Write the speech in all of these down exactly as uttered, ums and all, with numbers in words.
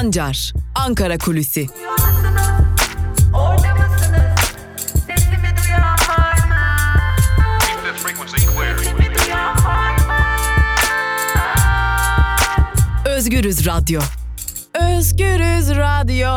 Sancar, Ankara Kulüsi. Özgürüz Radyo. Özgürüz Radyo.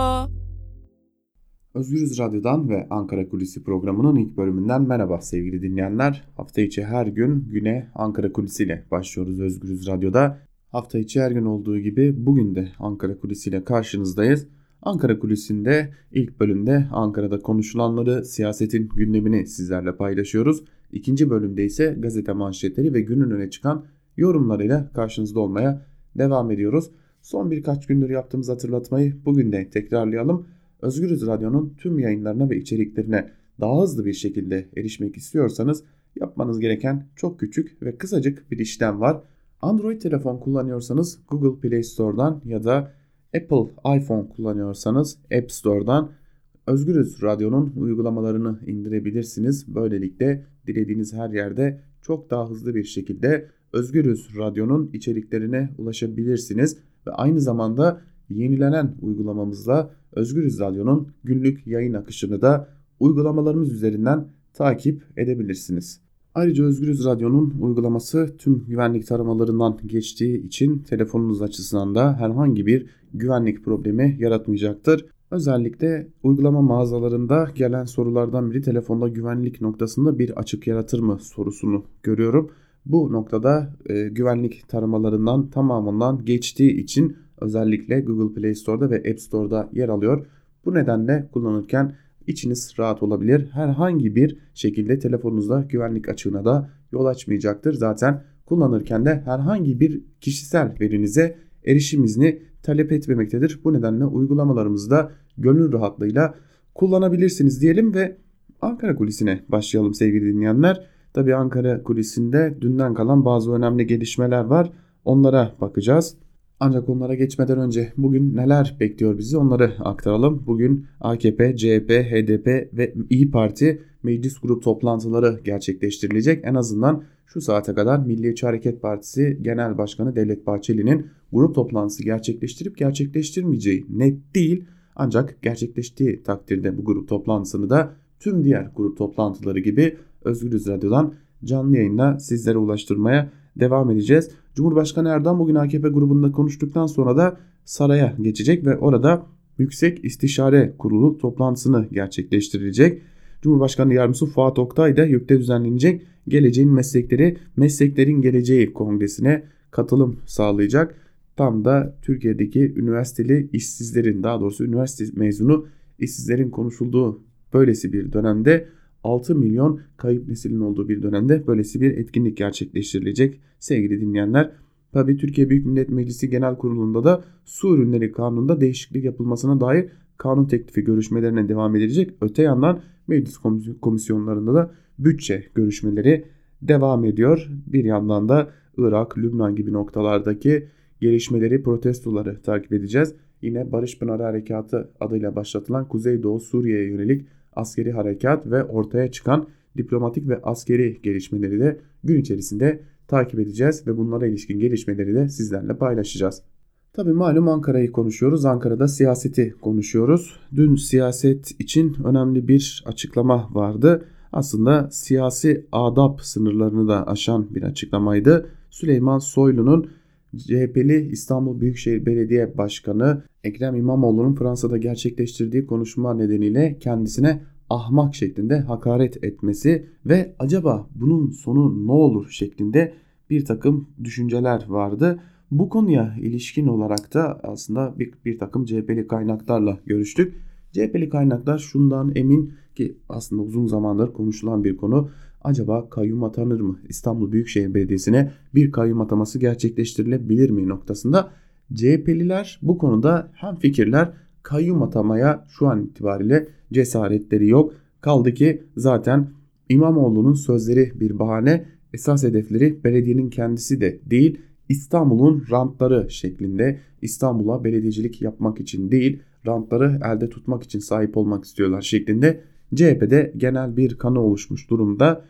Özgürüz Radyo'dan ve Ankara Kulisi programının ilk bölümünden merhaba sevgili dinleyenler. Hafta içi her gün güne Ankara Kulisi ile başlıyoruz Özgürüz Radyo'da. Hafta içi her gün olduğu gibi bugün de Ankara Kulisi ile karşınızdayız. Ankara Kulisi'nde ilk bölümde Ankara'da konuşulanları, siyasetin gündemini sizlerle paylaşıyoruz. İkinci bölümde ise gazete manşetleri ve günün öne çıkan yorumlarıyla karşınızda olmaya devam ediyoruz. Son birkaç gündür yaptığımız hatırlatmayı bugün de tekrarlayalım. Özgürüz Radyo'nun tüm yayınlarına ve içeriklerine daha hızlı bir şekilde erişmek istiyorsanız yapmanız gereken çok küçük ve kısacık bir işlem var. Android telefon kullanıyorsanız Google Play Store'dan ya da Apple iPhone kullanıyorsanız App Store'dan Özgürüz Radyo'nun uygulamalarını indirebilirsiniz. Böylelikle dilediğiniz her yerde çok daha hızlı bir şekilde Özgürüz Radyo'nun içeriklerine ulaşabilirsiniz ve aynı zamanda yenilenen uygulamamızla Özgürüz Radyo'nun günlük yayın akışını da uygulamalarımız üzerinden takip edebilirsiniz. Ayrıca Özgürüz Radyo'nun uygulaması tüm güvenlik taramalarından geçtiği için telefonunuz açısından da herhangi bir güvenlik problemi yaratmayacaktır. Özellikle uygulama mağazalarında gelen sorulardan biri telefonda güvenlik noktasında bir açık yaratır mı sorusunu görüyorum. Bu noktada e, güvenlik taramalarından tamamından geçtiği için özellikle Google Play Store'da ve App Store'da yer alıyor. Bu nedenle kullanırken içiniz rahat olabilir. Herhangi bir şekilde telefonunuzda güvenlik açığına da yol açmayacaktır. Zaten kullanırken de herhangi bir kişisel verinize erişim izni talep etmemektedir. Bu nedenle uygulamalarımızı da gönül rahatlığıyla kullanabilirsiniz diyelim ve Ankara Kulisi'ne başlayalım sevgili dinleyenler. Tabii Ankara Kulisi'nde dünden kalan bazı önemli gelişmeler var. Onlara bakacağız. Ancak onlara geçmeden önce bugün neler bekliyor bizi onları aktaralım. Bugün A K P, C H P, H D P ve İYİ Parti meclis grup toplantıları gerçekleştirilecek. En azından şu saate kadar Milliyetçi Hareket Partisi Genel Başkanı Devlet Bahçeli'nin grup toplantısı gerçekleştirip gerçekleştirmeyeceği net değil. Ancak gerçekleştiği takdirde bu grup toplantısını da tüm diğer grup toplantıları gibi Özgürüz Radyo'dan canlı yayında sizlere ulaştırmaya devam edeceğiz. Cumhurbaşkanı Erdoğan bugün A K P grubunda konuştuktan sonra da saraya geçecek ve orada Yüksek İstişare Kurulu toplantısını gerçekleştirilecek. Cumhurbaşkanı Yardımcısı Fuat Oktay da YÖK'te düzenlenecek Geleceğin Meslekleri, Mesleklerin Geleceği Kongresi'ne katılım sağlayacak. Tam da Türkiye'deki üniversiteli işsizlerin, daha doğrusu üniversite mezunu işsizlerin konuşulduğu böylesi bir dönemde, altı milyon kayıp neslin olduğu bir dönemde böylesi bir etkinlik gerçekleştirilecek sevgili dinleyenler. Tabii Türkiye Büyük Millet Meclisi Genel Kurulu'nda da su ürünleri kanununda değişiklik yapılmasına dair kanun teklifi görüşmelerine devam edilecek. Öte yandan meclis komisyonlarında da bütçe görüşmeleri devam ediyor. Bir yandan da Irak, Lübnan gibi noktalardaki gelişmeleri, protestoları takip edeceğiz. Yine Barış Pınarı Harekatı adıyla başlatılan Kuzeydoğu Suriye'ye yönelik askeri harekat ve ortaya çıkan diplomatik ve askeri gelişmeleri de gün içerisinde takip edeceğiz ve bunlara ilişkin gelişmeleri de sizlerle paylaşacağız. Tabii malum Ankara'yı konuşuyoruz. Ankara'da siyaseti konuşuyoruz. Dün siyaset için önemli bir açıklama vardı. Aslında siyasi adab sınırlarını da aşan bir açıklamaydı. Süleyman Soylu'nun C H P'li İstanbul Büyükşehir Belediye Başkanı Ekrem İmamoğlu'nun Fransa'da gerçekleştirdiği konuşma nedeniyle kendisine ahmak şeklinde hakaret etmesi ve acaba bunun sonu ne olur şeklinde bir takım düşünceler vardı. Bu konuya ilişkin olarak da aslında bir, bir takım C H P'li kaynaklarla görüştük. C H P'li kaynaklar şundan emin ki aslında uzun zamandır konuşulan bir konu. Acaba kayyum atanır mı? İstanbul Büyükşehir Belediyesi'ne bir kayyum ataması gerçekleştirilebilir mi noktasında C H P'liler bu konuda hemfikirler. Kayyum atamaya şu an itibariyle cesaretleri yok. Kaldı ki zaten İmamoğlu'nun sözleri bir bahane, esas hedefleri belediyenin kendisi de değil, İstanbul'un rantları şeklinde. İstanbul'a belediyecilik yapmak için değil, rantları elde tutmak için sahip olmak istiyorlar şeklinde C H P'de genel bir kanı oluşmuş durumda.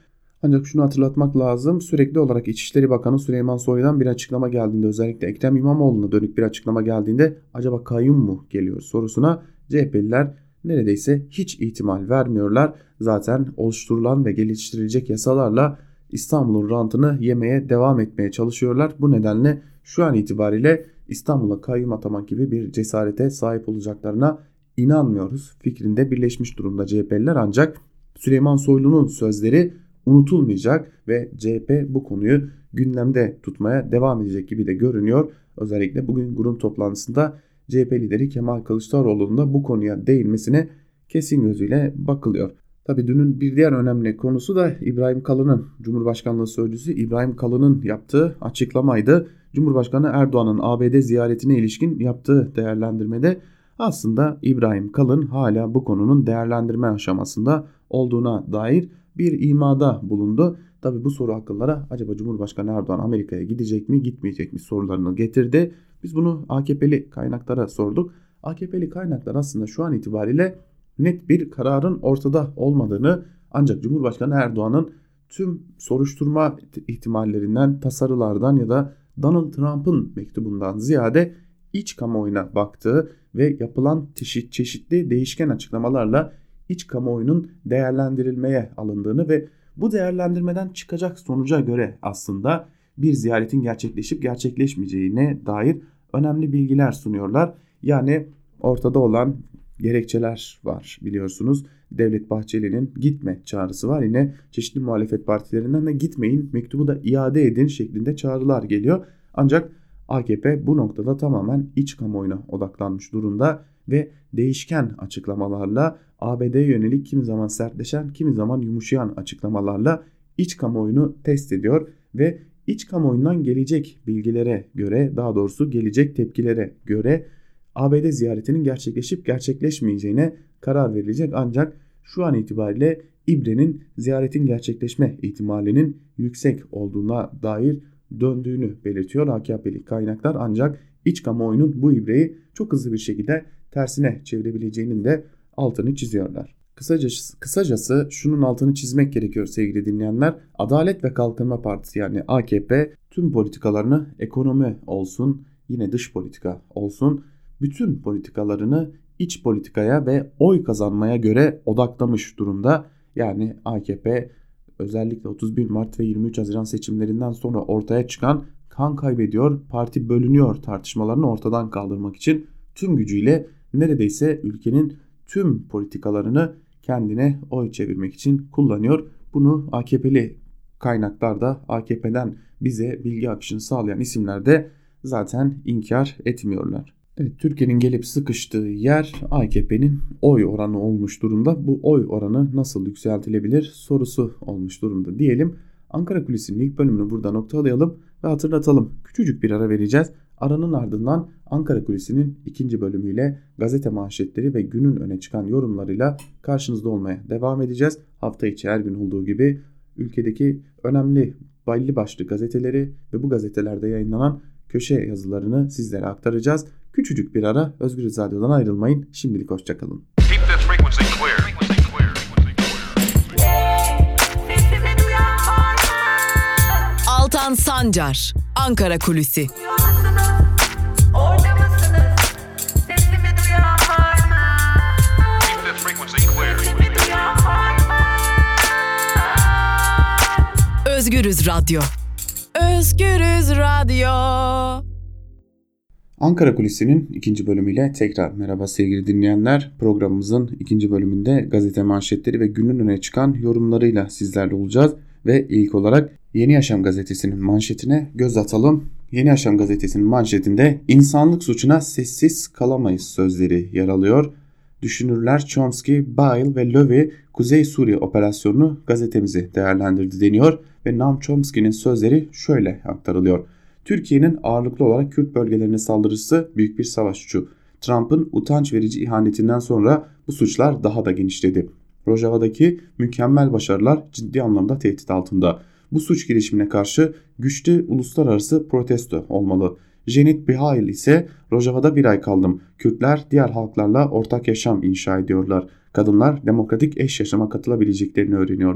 Ancak şunu hatırlatmak lazım. Sürekli olarak İçişleri Bakanı Süleyman Soylu'dan bir açıklama geldiğinde, özellikle Ekrem İmamoğlu'na dönük bir açıklama geldiğinde acaba kayyum mu geliyor sorusuna C H P'liler neredeyse hiç ihtimal vermiyorlar. Zaten oluşturulan ve geliştirilecek yasalarla İstanbul'un rantını yemeye devam etmeye çalışıyorlar. Bu nedenle şu an itibariyle İstanbul'a kayyum atamak gibi bir cesarete sahip olacaklarına inanmıyoruz fikrinde birleşmiş durumda C H P'liler. Ancak Süleyman Soylu'nun sözleri unutulmayacak ve C H P bu konuyu gündemde tutmaya devam edecek gibi de görünüyor. Özellikle bugün grup toplantısında C H P lideri Kemal Kılıçdaroğlu'nun da bu konuya değinmesine kesin gözüyle bakılıyor. Tabii dünün bir diğer önemli konusu da İbrahim Kalın'ın, Cumhurbaşkanlığı Sözcüsü İbrahim Kalın'ın yaptığı açıklamaydı. Cumhurbaşkanı Erdoğan'ın A B D ziyaretine ilişkin yaptığı değerlendirmede aslında İbrahim Kalın hala bu konunun değerlendirme aşamasında olduğuna dair bir imada bulundu. Tabii bu soru akıllara acaba Cumhurbaşkanı Erdoğan Amerika'ya gidecek mi gitmeyecek mi sorularını getirdi. Biz bunu A K P'li kaynaklara sorduk. A K P'li kaynaklar aslında şu an itibariyle net bir kararın ortada olmadığını, ancak Cumhurbaşkanı Erdoğan'ın tüm soruşturma ihtimallerinden, tasarılardan ya da Donald Trump'ın mektubundan ziyade iç kamuoyuna baktığı ve yapılan çeşit, çeşitli değişken açıklamalarla iç kamuoyunun değerlendirilmeye alındığını ve bu değerlendirmeden çıkacak sonuca göre aslında bir ziyaretin gerçekleşip gerçekleşmeyeceğine dair önemli bilgiler sunuyorlar. Yani ortada olan gerekçeler var biliyorsunuz. Devlet Bahçeli'nin gitme çağrısı var. Yine çeşitli muhalefet partilerinden de gitmeyin, mektubu da iade edin şeklinde çağrılar geliyor. Ancak A K P bu noktada tamamen iç kamuoyuna odaklanmış durumda ve değişken açıklamalarla A B D'ye yönelik kimi zaman sertleşen, kimi zaman yumuşayan açıklamalarla iç kamuoyunu test ediyor ve iç kamuoyundan gelecek bilgilere göre, daha doğrusu gelecek tepkilere göre A B D ziyaretinin gerçekleşip gerçekleşmeyeceğine karar verilecek. Ancak şu an itibariyle İBRE'nin ziyaretin gerçekleşme ihtimalinin yüksek olduğuna dair döndüğünü belirtiyor A K P'li kaynaklar. Ancak iç kamuoyunun bu İBRE'yi çok hızlı bir şekilde tersine çevirebileceğinin de altını çiziyorlar. Kısacası, kısacası şunun altını çizmek gerekiyor sevgili dinleyenler. Adalet ve Kalkınma Partisi yani A K P tüm politikalarını ekonomi olsun, yine dış politika olsun, bütün politikalarını iç politikaya ve oy kazanmaya göre odaklamış durumda. Yani A K P özellikle otuz bir Mart ve yirmi üç Haziran seçimlerinden sonra ortaya çıkan kan kaybediyor, parti bölünüyor tartışmalarını ortadan kaldırmak için tüm gücüyle neredeyse ülkenin tüm politikalarını kendine oy çevirmek için kullanıyor. Bunu A K P'li kaynaklarda, A K P'den bize bilgi akışını sağlayan isimler de zaten inkar etmiyorlar. Evet, Türkiye'nin gelip sıkıştığı yer A K P'nin oy oranı olmuş durumda. Bu oy oranı nasıl yükseltilebilir sorusu olmuş durumda diyelim. Ankara Kulisi'nin ilk bölümünü burada noktalayalım ve hatırlatalım. Küçücük bir ara vereceğiz. Aranın ardından Ankara Kulisi'nin ikinci bölümüyle gazete manşetleri ve günün öne çıkan yorumlarıyla karşınızda olmaya devam edeceğiz. Hafta içi her gün olduğu gibi ülkedeki önemli belli başlı gazeteleri ve bu gazetelerde yayınlanan köşe yazılarını sizlere aktaracağız. Küçücük bir ara, Özgürüz Radyo'dan ayrılmayın. Şimdilik hoşçakalın. Altan Sancar, Ankara Kulüsi. Özgürüz Radyo. Özgürüz Radyo. Ankara Kulisi'nin ikinci bölümüyle tekrar merhaba sevgili dinleyenler. Programımızın ikinci bölümünde gazete manşetleri ve günün öne çıkan yorumlarıyla sizlerle olacağız. Ve ilk olarak Yeni Yaşam gazetesinin manşetine göz atalım. Yeni Yaşam gazetesinin manşetinde insanlık suçuna sessiz kalamayız sözleri yer alıyor. Düşünürler Chomsky, Bail ve Löwy Kuzey Suriye operasyonunu gazetemizi değerlendirdi deniyor ve Noam Chomsky'nin sözleri şöyle aktarılıyor. Türkiye'nin ağırlıklı olarak Kürt bölgelerine saldırısı büyük bir savaş suçu. Trump'ın utanç verici ihanetinden sonra bu suçlar daha da genişledi. Rojava'daki mükemmel başarılar ciddi anlamda tehdit altında. Bu suç girişimine karşı güçlü uluslararası protesto olmalı. Jenit Bihail ise Rojava'da bir ay kaldım. Kürtler diğer halklarla ortak yaşam inşa ediyorlar. Kadınlar demokratik eş yaşama katılabileceklerini öğreniyorlar.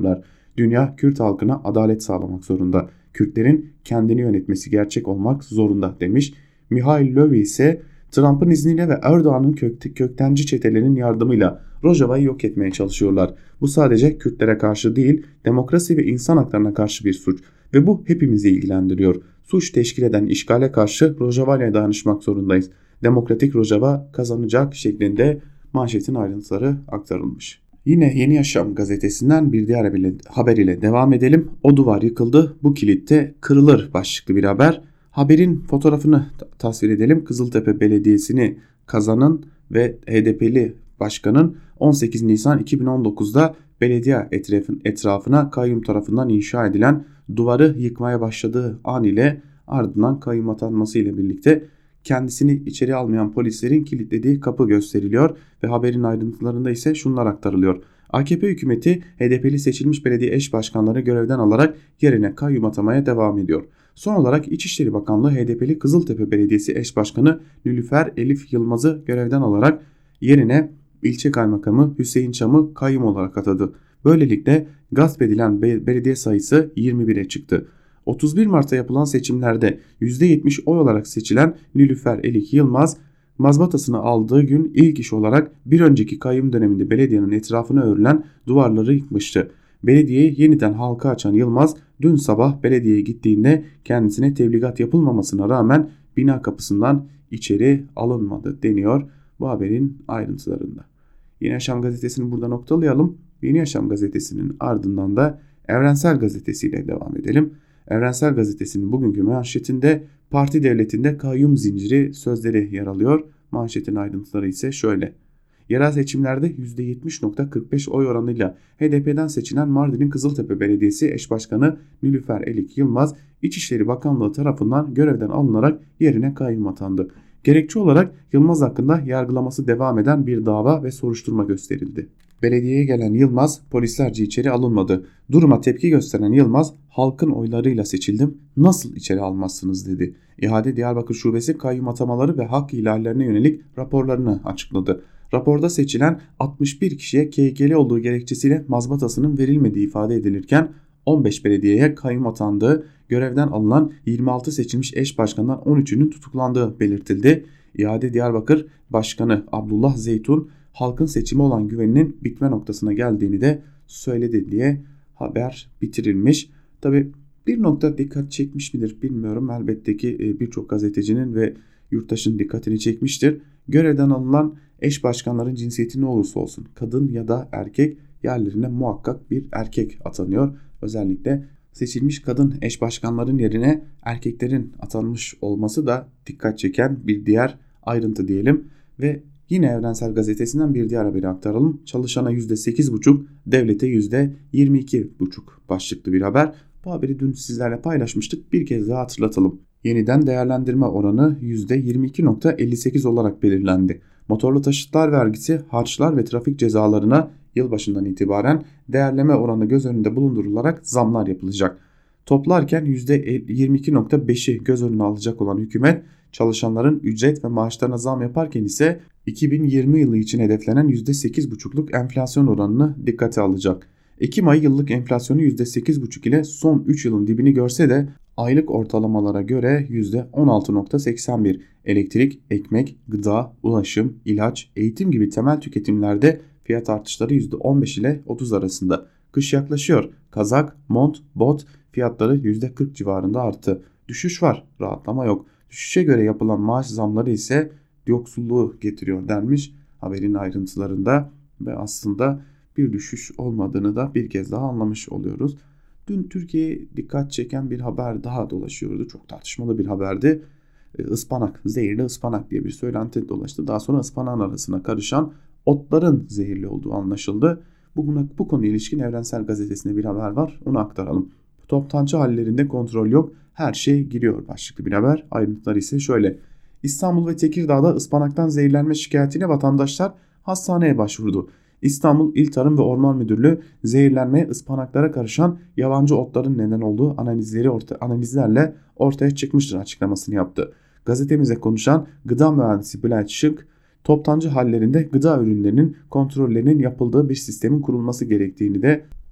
Dünya Kürt halkına adalet sağlamak zorunda. Kürtlerin kendini yönetmesi gerçek olmak zorunda demiş. Mihail Löwy ise Trump'ın izniyle ve Erdoğan'ın kök, köktenci çetelerin yardımıyla Rojava'yı yok etmeye çalışıyorlar. Bu sadece Kürtlere karşı değil, demokrasi ve insan haklarına karşı bir suç ve bu hepimizi ilgilendiriyor. Suç teşkil eden işgale karşı Rojava'yla dayanışmak zorundayız. Demokratik Rojava kazanacak şeklinde manşetin ayrıntıları aktarılmış. Yine Yeni Yaşam gazetesinden bir diğer haber ile devam edelim. O duvar yıkıldı, bu kilitte kırılır başlıklı bir haber. Haberin fotoğrafını tasvir edelim. Kızıltepe Belediyesi'ni kazanın ve H D P'li başkanın on sekiz Nisan iki bin on dokuzda belediye etrafına kayyum tarafından inşa edilen duvarı yıkmaya başladığı an ile ardından kayyum atanması ile birlikte kendisini içeri almayan polislerin kilitlediği kapı gösteriliyor ve haberin ayrıntılarında ise şunlar aktarılıyor. A K P hükümeti H D P'li seçilmiş belediye eş başkanları görevden alarak yerine kayyum atamaya devam ediyor. Son olarak İçişleri Bakanlığı H D P'li Kızıltepe Belediyesi eş başkanı Nilüfer Elif Yılmaz'ı görevden alarak yerine ilçe kaymakamı Hüseyin Çam'ı kayyum olarak atadı. Böylelikle gasp edilen belediye sayısı yirmi bire çıktı. otuz bir Mart'ta yapılan seçimlerde yüzde yetmiş oy olarak seçilen Nilüfer Elif Yılmaz, mazbatasını aldığı gün ilk iş olarak bir önceki kayyum döneminde belediyenin etrafına örülen duvarları yıkmıştı. Belediyeyi yeniden halka açan Yılmaz dün sabah belediyeye gittiğinde kendisine tebligat yapılmamasına rağmen bina kapısından içeri alınmadı deniyor bu haberin ayrıntılarında. Yeni Yaşam gazetesini burada noktalayalım. Yeni Yaşam gazetesinin ardından da Evrensel gazetesiyle devam edelim. Evrensel gazetesinin bugünkü manşetinde parti devletinde kayyum zinciri sözleri yer alıyor. Manşetin ayrıntıları ise şöyle. Yerel seçimlerde yüzde yetmiş virgül kırk beş oy oranıyla H D P'den seçilen Mardin'in Kızıltepe Belediyesi eş başkanı Nilüfer Elif Yılmaz, İçişleri Bakanlığı tarafından görevden alınarak yerine kayyum atandı. Gerekçe olarak Yılmaz hakkında yargılaması devam eden bir dava ve soruşturma gösterildi. Belediyeye gelen Yılmaz polislerce içeri alınmadı. Duruma tepki gösteren Yılmaz, halkın oylarıyla seçildim, nasıl içeri almazsınız dedi. İHA'de Diyarbakır Şubesi kayyum atamaları ve hak ihlallerine yönelik raporlarını açıkladı. Raporda seçilen altmış bir kişiye K K L olduğu gerekçesiyle mazbatasının verilmediği ifade edilirken on beş belediyeye kayyum atandığı, görevden alınan yirmi altı seçilmiş eş başkandan on üçünün tutuklandığı belirtildi. İHA'de Diyarbakır Başkanı Abdullah Zeytun, halkın seçimi olan güveninin bitme noktasına geldiğini de söyledi diye haber bitirilmiş. Tabi bir nokta dikkat çekmiş midir bilmiyorum. Elbette ki birçok gazetecinin ve yurttaşın dikkatini çekmiştir. Görevden alınan eş başkanların cinsiyeti ne olursa olsun, kadın ya da erkek, yerlerine muhakkak bir erkek atanıyor. Özellikle seçilmiş kadın eş başkanların yerine erkeklerin atanmış olması da dikkat çeken bir diğer ayrıntı diyelim. Ve yine Evrensel Gazetesi'nden bir diğer haberi aktaralım. Çalışana yüzde sekiz virgül beş, devlete yüzde yirmi iki virgül beş başlıklı bir haber. Bu haberi dün sizlerle paylaşmıştık. Bir kez daha hatırlatalım. Yeniden değerlendirme oranı yüzde yirmi iki virgül elli sekiz olarak belirlendi. Motorlu taşıtlar vergisi, harçlar ve trafik cezalarına yılbaşından itibaren değerleme oranı göz önünde bulundurularak zamlar yapılacak. Toplarken yüzde yirmi iki virgül beşi göz önüne alacak olan hükümet, çalışanların ücret ve maaşlarına zam yaparken ise iki bin yirmi yılı için hedeflenen yüzde sekiz virgül beş'luk enflasyon oranını dikkate alacak. Ekim ayı yıllık enflasyonu yüzde sekiz virgül beş ile son üç yılın dibini görse de aylık ortalamalara göre yüzde on altı virgül seksen bir. Elektrik, ekmek, gıda, ulaşım, ilaç, eğitim gibi temel tüketimlerde fiyat artışları yüzde on beş ile otuz arasında. Kış yaklaşıyor. Kazak, mont, bot fiyatları yüzde kırk civarında arttı. Düşüş var, rahatlama yok. Düşüşe göre yapılan maaş zamları ise yoksulluğu getiriyor denmiş haberin ayrıntılarında ve aslında bir düşüş olmadığını da bir kez daha anlamış oluyoruz. Dün Türkiye'ye dikkat çeken bir haber daha dolaşıyordu. Çok tartışmalı bir haberdi. Ispanak, zehirli ıspanak diye bir söylenti dolaştı. Daha sonra ıspanağın arasına karışan otların zehirli olduğu anlaşıldı. Bugün bu konuya ilişkin Evrensel Gazetesi'nde bir haber var. Onu aktaralım. Toptancı hallerinde kontrol yok. Her şey giriyor başlıklı bir haber. Ayrıntıları ise şöyle. İstanbul ve Tekirdağ'da ıspanaktan zehirlenme şikayetiyle vatandaşlar hastaneye başvurdu. İstanbul İl Tarım ve Orman Müdürlüğü zehirlenmeye ıspanaklara karışan yabancı otların neden olduğu analizleri orta, analizlerle ortaya çıkmıştır açıklamasını yaptı. Gazetemize konuşan gıda mühendisi Bülent Şık, toptancı hallerinde gıda ürünlerinin kontrollerinin yapıldığı bir sistemin kurulması gerektiğini de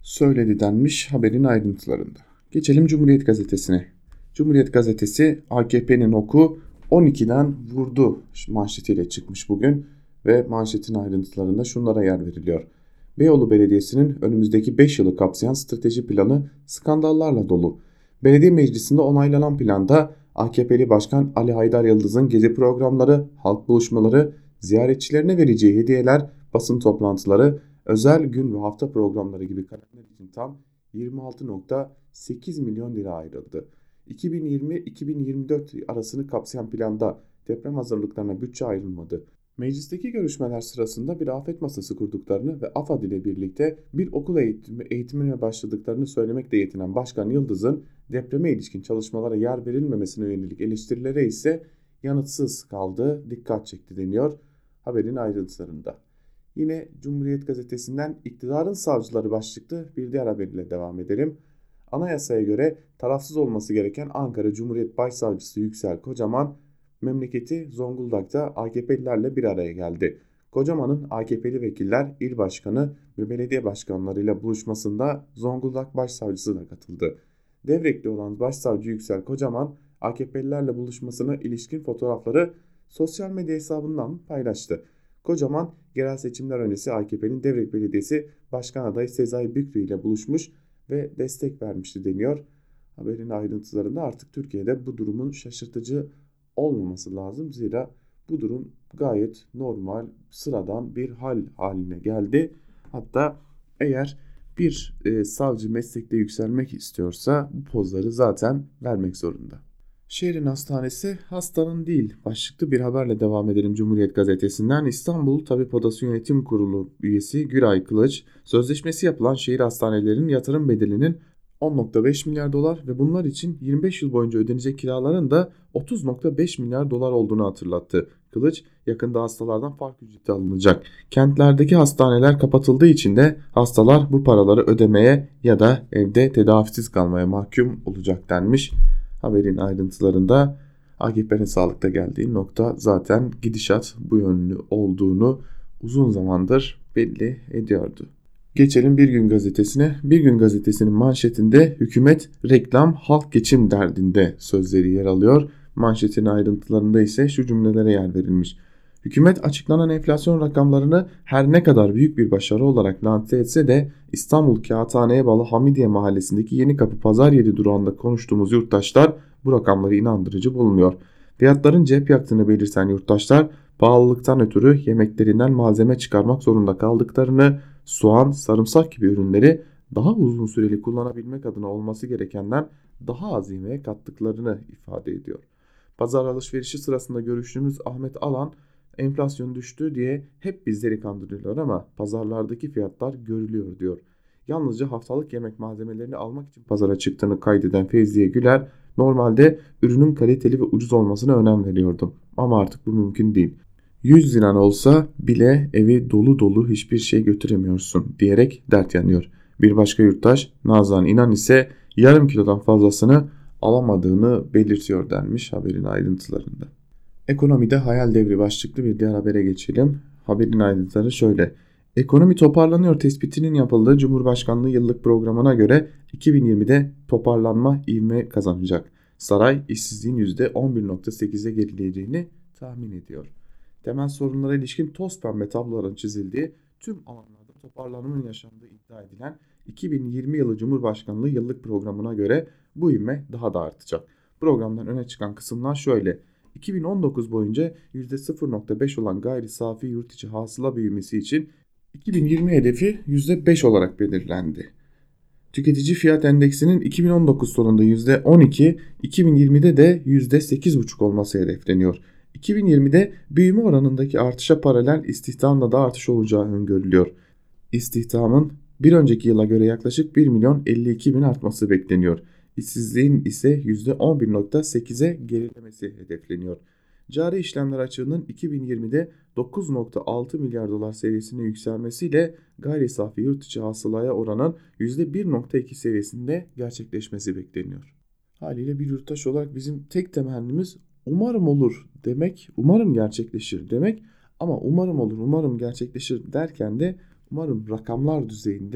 söyledi denmiş haberin ayrıntılarında. Geçelim Cumhuriyet Gazetesi'ne. Cumhuriyet Gazetesi A K P'nin oku on ikiden vurdu manşetiyle çıkmış bugün ve manşetin ayrıntılarında şunlara yer veriliyor. Beyoğlu Belediyesi'nin önümüzdeki beş yılı kapsayan strateji planı skandallarla dolu. Belediye meclisinde onaylanan planda A K P'li Başkan Ali Haydar Yıldız'ın gezi programları, halk buluşmaları, ziyaretçilerine vereceği hediyeler, basın toplantıları, özel gün ve hafta programları gibi kalemler için tam yirmi altı nokta sekiz milyon lira ayrıldı. iki bin yirmi iki bin yirmi dört arasını kapsayan planda deprem hazırlıklarına bütçe ayrılmadı. Meclisteki görüşmeler sırasında bir afet masası kurduklarını ve AFAD ile birlikte bir okul eğitimi, eğitimine başladıklarını söylemekle yetinen Başkan Yıldız'ın depreme ilişkin çalışmalara yer verilmemesine yönelik eleştirilere ise yanıtsız kaldı, dikkat çekti deniyor haberin ayrıntılarında. Yine Cumhuriyet Gazetesi'nden iktidarın savcıları başlıklı bir diğer haberle devam edelim. Anayasaya göre tarafsız olması gereken Ankara Cumhuriyet Başsavcısı Yüksel Kocaman memleketi Zonguldak'ta A K P'lilerle bir araya geldi. Kocaman'ın A K P'li vekiller, il başkanı ve belediye başkanlarıyla buluşmasında Zonguldak Başsavcısı da katıldı. Devrekli olan Başsavcı Yüksel Kocaman A K P'lilerle buluşmasına ilişkin fotoğrafları sosyal medya hesabından paylaştı. Kocaman yerel seçimler öncesi A K P'nin Devrek Belediyesi Başkan adayı Sezai Bükrü ile buluşmuş ve destek vermişti deniyor. Haberin ayrıntılarında artık Türkiye'de bu durumun şaşırtıcı olmaması lazım. Zira bu durum gayet normal, sıradan bir hal haline geldi. Hatta eğer bir e, savcı meslekte yükselmek istiyorsa bu pozları zaten vermek zorunda. Şehrin hastanesi hastanın değil başlıklı bir haberle devam edelim Cumhuriyet Gazetesi'nden. İstanbul Tabip Odası Yönetim Kurulu üyesi Güray Kılıç, sözleşmesi yapılan şehir hastanelerinin yatırım bedelinin on nokta beş milyar dolar ve bunlar için yirmi beş yıl boyunca ödenecek kiraların da otuz nokta beş milyar dolar olduğunu hatırlattı. Kılıç, yakında hastalardan fark ücreti alınacak. Kentlerdeki hastaneler kapatıldığı için de hastalar bu paraları ödemeye ya da evde tedavisiz kalmaya mahkum olacak denmiş. Haberin ayrıntılarında A K P'nin sağlıkta geldiği nokta zaten gidişat bu yönlü olduğunu uzun zamandır belli ediyordu. Geçelim Bir Gün Gazetesi'ne. Bir Gün Gazetesi'nin manşetinde hükümet reklam halk geçim derdinde sözleri yer alıyor. Manşetin ayrıntılarında ise şu cümlelere yer verilmiş. Hükümet açıklanan enflasyon rakamlarını her ne kadar büyük bir başarı olarak lanse etse de İstanbul Kağıthane'ye bağlı Hamidiye Mahallesi'ndeki Yenikapı Pazar Yeri durağında konuştuğumuz yurttaşlar bu rakamları inandırıcı bulmuyor. Fiyatların cep yaktığını belirten yurttaşlar pahalılıktan ötürü yemeklerinden malzeme çıkarmak zorunda kaldıklarını, soğan, sarımsak gibi ürünleri daha uzun süreli kullanabilmek adına olması gerekenden daha az yemeğe kattıklarını ifade ediyor. Pazar alışverişi sırasında görüştüğümüz Ahmet Alan, enflasyon düştü diye hep bizleri kandırıyorlar ama pazarlardaki fiyatlar görülüyor diyor. Yalnızca haftalık yemek malzemelerini almak için pazara çıktığını kaydeden Feyziye Güler, normalde ürünün kaliteli ve ucuz olmasına önem veriyordum ama artık bu mümkün değil. yüz liran olsa bile evi dolu dolu hiçbir şey götüremiyorsun diyerek dert yanıyor. Bir başka yurttaş Nazan İnan ise yarım kilodan fazlasını alamadığını belirtiyor denmiş haberin ayrıntılarında. Ekonomide hayal devri başlıklı bir diğer habere geçelim. Haberin ayrıntıları şöyle. Ekonomi toparlanıyor tespitinin yapıldığı Cumhurbaşkanlığı yıllık programına göre iki bin yirmide toparlanma ivme kazanacak. Saray işsizliğin yüzde on bir nokta sekize gerileyeceğini tahmin ediyor. Temel sorunlara ilişkin toz pembe tabloların çizildiği tüm alanlarda toparlanmanın yaşandığı iddia edilen iki bin yirmi yılı Cumhurbaşkanlığı yıllık programına göre bu ivme daha da artacak. Programdan öne çıkan kısımlar şöyle. iki bin on dokuz boyunca yüzde sıfır nokta beş olan gayri safi yurt içi hasıla büyümesi için iki bin yirmi hedefi yüzde beş olarak belirlendi. Tüketici fiyat endeksinin iki bin on dokuz sonunda yüzde on iki, iki bin yirmide de yüzde sekiz virgül beş olması hedefleniyor. iki bin yirmide büyüme oranındaki artışa paralel istihdamda da artış olacağı öngörülüyor. İstihdamın bir önceki yıla göre yaklaşık bir milyon elli iki bin artması bekleniyor. İşsizliğin ise yüzde on bir nokta sekize gerilemesi hedefleniyor. Cari işlemler açığının iki bin yirmide dokuz nokta altı milyar dolar seviyesine yükselmesiyle gayri safi yurt içi hasılaya oranın yüzde bir nokta iki seviyesinde gerçekleşmesi bekleniyor. Haliyle bir yurttaş olarak bizim tek temennimiz umarım olur demek, umarım gerçekleşir demek ama umarım olur, umarım gerçekleşir derken de umarım rakamlar düzeyinde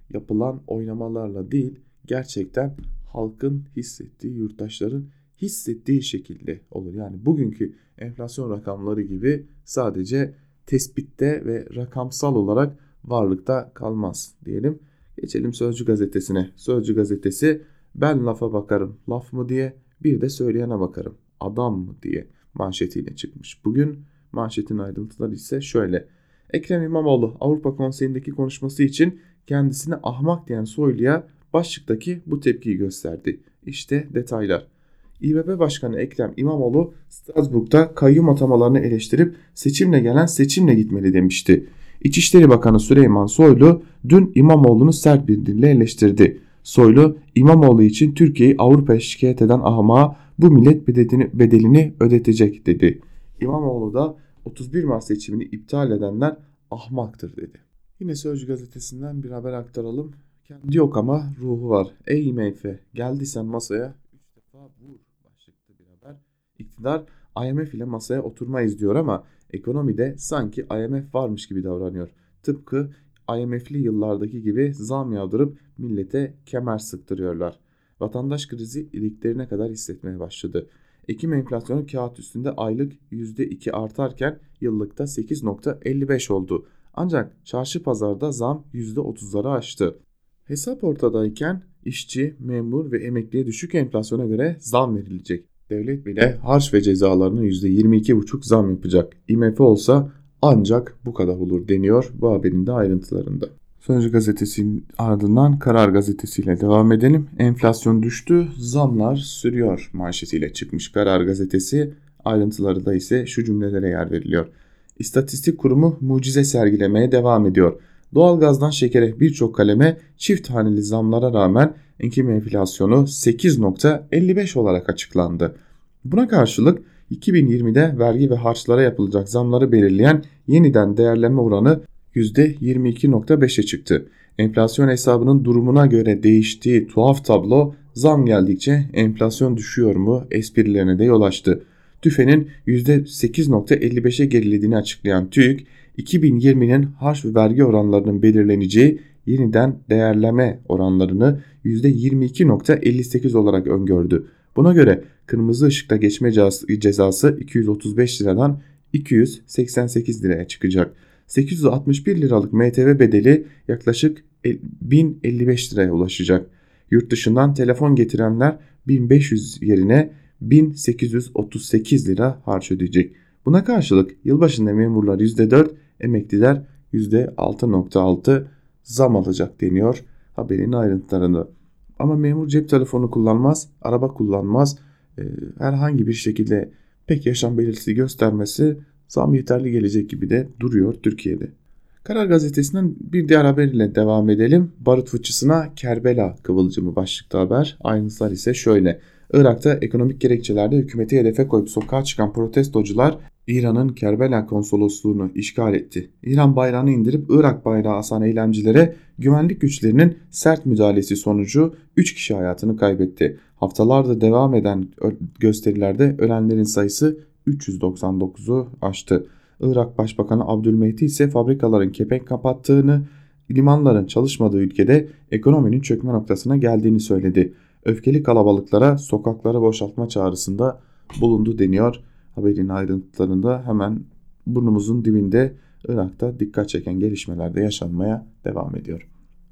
yapılan oynamalarla değil, gerçekten halkın hissettiği, yurttaşların hissettiği şekilde olur. Yani bugünkü enflasyon rakamları gibi sadece tespitte ve rakamsal olarak varlıkta kalmaz diyelim. Geçelim Sözcü gazetesine. Sözcü gazetesi ben lafa bakarım laf mı diye, bir de söyleyene bakarım adam mı diye manşetiyle çıkmış. Bugün manşetin ayrıntıları ise şöyle. Ekrem İmamoğlu Avrupa Konseyi'ndeki konuşması için kendisine ahmak diyen Soylu'ya başlıktaki bu tepkiyi gösterdi. İşte detaylar. İBB Başkanı Ekrem İmamoğlu Strasbourg'da kayyum atamalarını eleştirip seçimle gelen seçimle gitmeli demişti. İçişleri Bakanı Süleyman Soylu dün İmamoğlu'nu sert bir dille eleştirdi. Soylu, İmamoğlu için Türkiye'yi Avrupa'ya şikayet eden ahmağa bu millet bedelini, bedelini ödetecek dedi. İmamoğlu da otuz bir Mart seçimini iptal edenler ahmaktır dedi. Yine Sözcü gazetesinden bir haber aktaralım. Kendi yok ama ruhu var. Ey I M F geldiysen masaya üç defa vur başlıklı bir haber. İktidar I M F ile masaya oturmayız diyor ama ekonomide sanki I M F varmış gibi davranıyor. Tıpkı I M F'li yıllardaki gibi zam yağdırıp millete kemer sıktırıyorlar. Vatandaş krizi iliklerine kadar hissetmeye başladı. Ekim enflasyonu kağıt üstünde aylık yüzde iki artarken yıllıkta sekiz virgül elli beş oldu. Ancak çarşı pazarda zam yüzde otuzları aştı. Hesap ortadayken işçi, memur ve emekliye düşük enflasyona göre zam verilecek. Devlet bile harç ve cezalarını yüzde yirmi iki virgül beş zam yapacak. I M F olsa ancak bu kadar olur deniyor bu haberin de ayrıntılarında. Sözcü gazetesinin ardından Karar gazetesiyle devam edelim. Enflasyon düştü, zamlar sürüyor manşetiyle çıkmış Karar gazetesi. Ayrıntıları da ise şu cümlelere yer veriliyor. İstatistik Kurumu mucize sergilemeye devam ediyor. Doğalgazdan şekere birçok kaleme çift haneli zamlara rağmen Ekim enflasyonu sekiz virgül elli beş olarak açıklandı. Buna karşılık iki bin yirmide vergi ve harçlara yapılacak zamları belirleyen yeniden değerlenme oranı yüzde yirmi iki virgül beşe çıktı. Enflasyon hesabının durumuna göre değiştiği tuhaf tablo zam geldikçe enflasyon düşüyor mu esprilerine de yol açtı. TÜFE'nin yüzde sekiz virgül elli beşe gerilediğini açıklayan TÜİK, iki bin yirminin harç ve vergi oranlarının belirleneceği yeniden değerleme oranlarını yüzde yirmi iki virgül elli sekiz olarak öngördü. Buna göre kırmızı ışıkta geçme cezası iki yüz otuz beş liradan iki yüz seksen sekiz liraya çıkacak. sekiz yüz altmış bir liralık M T V bedeli yaklaşık bin elli beş liraya ulaşacak. Yurt dışından telefon getirenler bin beş yüz yerine bin sekiz yüz otuz sekiz lira harç ödeyecek. Buna karşılık yılbaşında memurlar yüzde dört, emekliler yüzde altı virgül altı zam alacak deniyor haberin ayrıntılarında. Ama memur cep telefonu kullanmaz, araba kullanmaz, e, herhangi bir şekilde pek yaşam belirtisi göstermesi zam yeterli gelecek gibi de duruyor Türkiye'de. Karar gazetesinden bir diğer haberiyle devam edelim. Barut fıçısına Kerbela kıvılcımı başlıklı haber. Ayrıntılar ise şöyle. Irak'ta ekonomik gerekçelerde hükümeti hedefe koyup sokağa çıkan protestocular İran'ın Kerbela konsolosluğunu işgal etti. İran bayrağını indirip Irak bayrağı asan eylemcilere güvenlik güçlerinin sert müdahalesi sonucu üç kişi hayatını kaybetti. Haftalardır devam eden gösterilerde ölenlerin sayısı üç yüz doksan dokuzu aştı. Irak Başbakanı Abdülmehdi ise fabrikaların kepenk kapattığını, limanların çalışmadığı ülkede ekonominin çökme noktasına geldiğini söyledi. Öfkeli kalabalıklara sokakları boşaltma çağrısında bulundu deniyor. Haberin ayrıntılarında hemen burnumuzun dibinde Irak'ta dikkat çeken gelişmeler de yaşanmaya devam ediyor.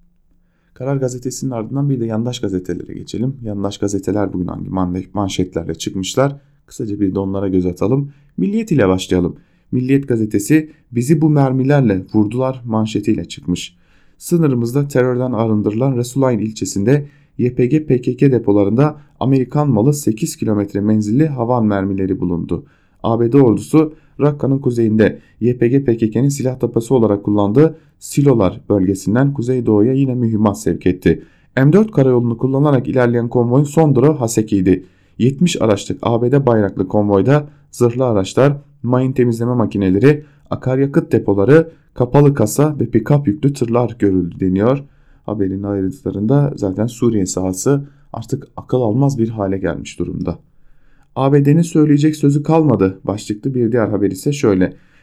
Karar gazetesinin ardından bir de yandaş gazetelere geçelim. Yandaş gazeteler bugün hangi manşetlerle çıkmışlar? Kısaca bir de onlara göz atalım. Milliyet ile başlayalım. Milliyet gazetesi bizi bu mermilerle vurdular manşetiyle çıkmış. Sınırımızda terörden arındırılan Resulayn ilçesinde Y P G P K K depolarında Amerikan malı sekiz kilometre menzilli havan mermileri bulundu. A B D ordusu Rakka'nın kuzeyinde Y P G P K K'nin silah deposu olarak kullandığı Silolar bölgesinden kuzeydoğuya yine mühimmat sevk etti. M dört karayolunu kullanarak ilerleyen konvoyun son durağı Haseki'ydi. yetmiş araçlık A B D bayraklı konvoyda zırhlı araçlar, mayın temizleme makineleri, akaryakıt depoları, kapalı kasa ve pikap yüklü tırlar görüldü deniyor. Haberin ayrıntılarında zaten Suriye sahası artık akıl almaz bir hale gelmiş durumda. A B D'nin söyleyecek sözü kalmadı başlıklı bir diğer haber ise şöyle.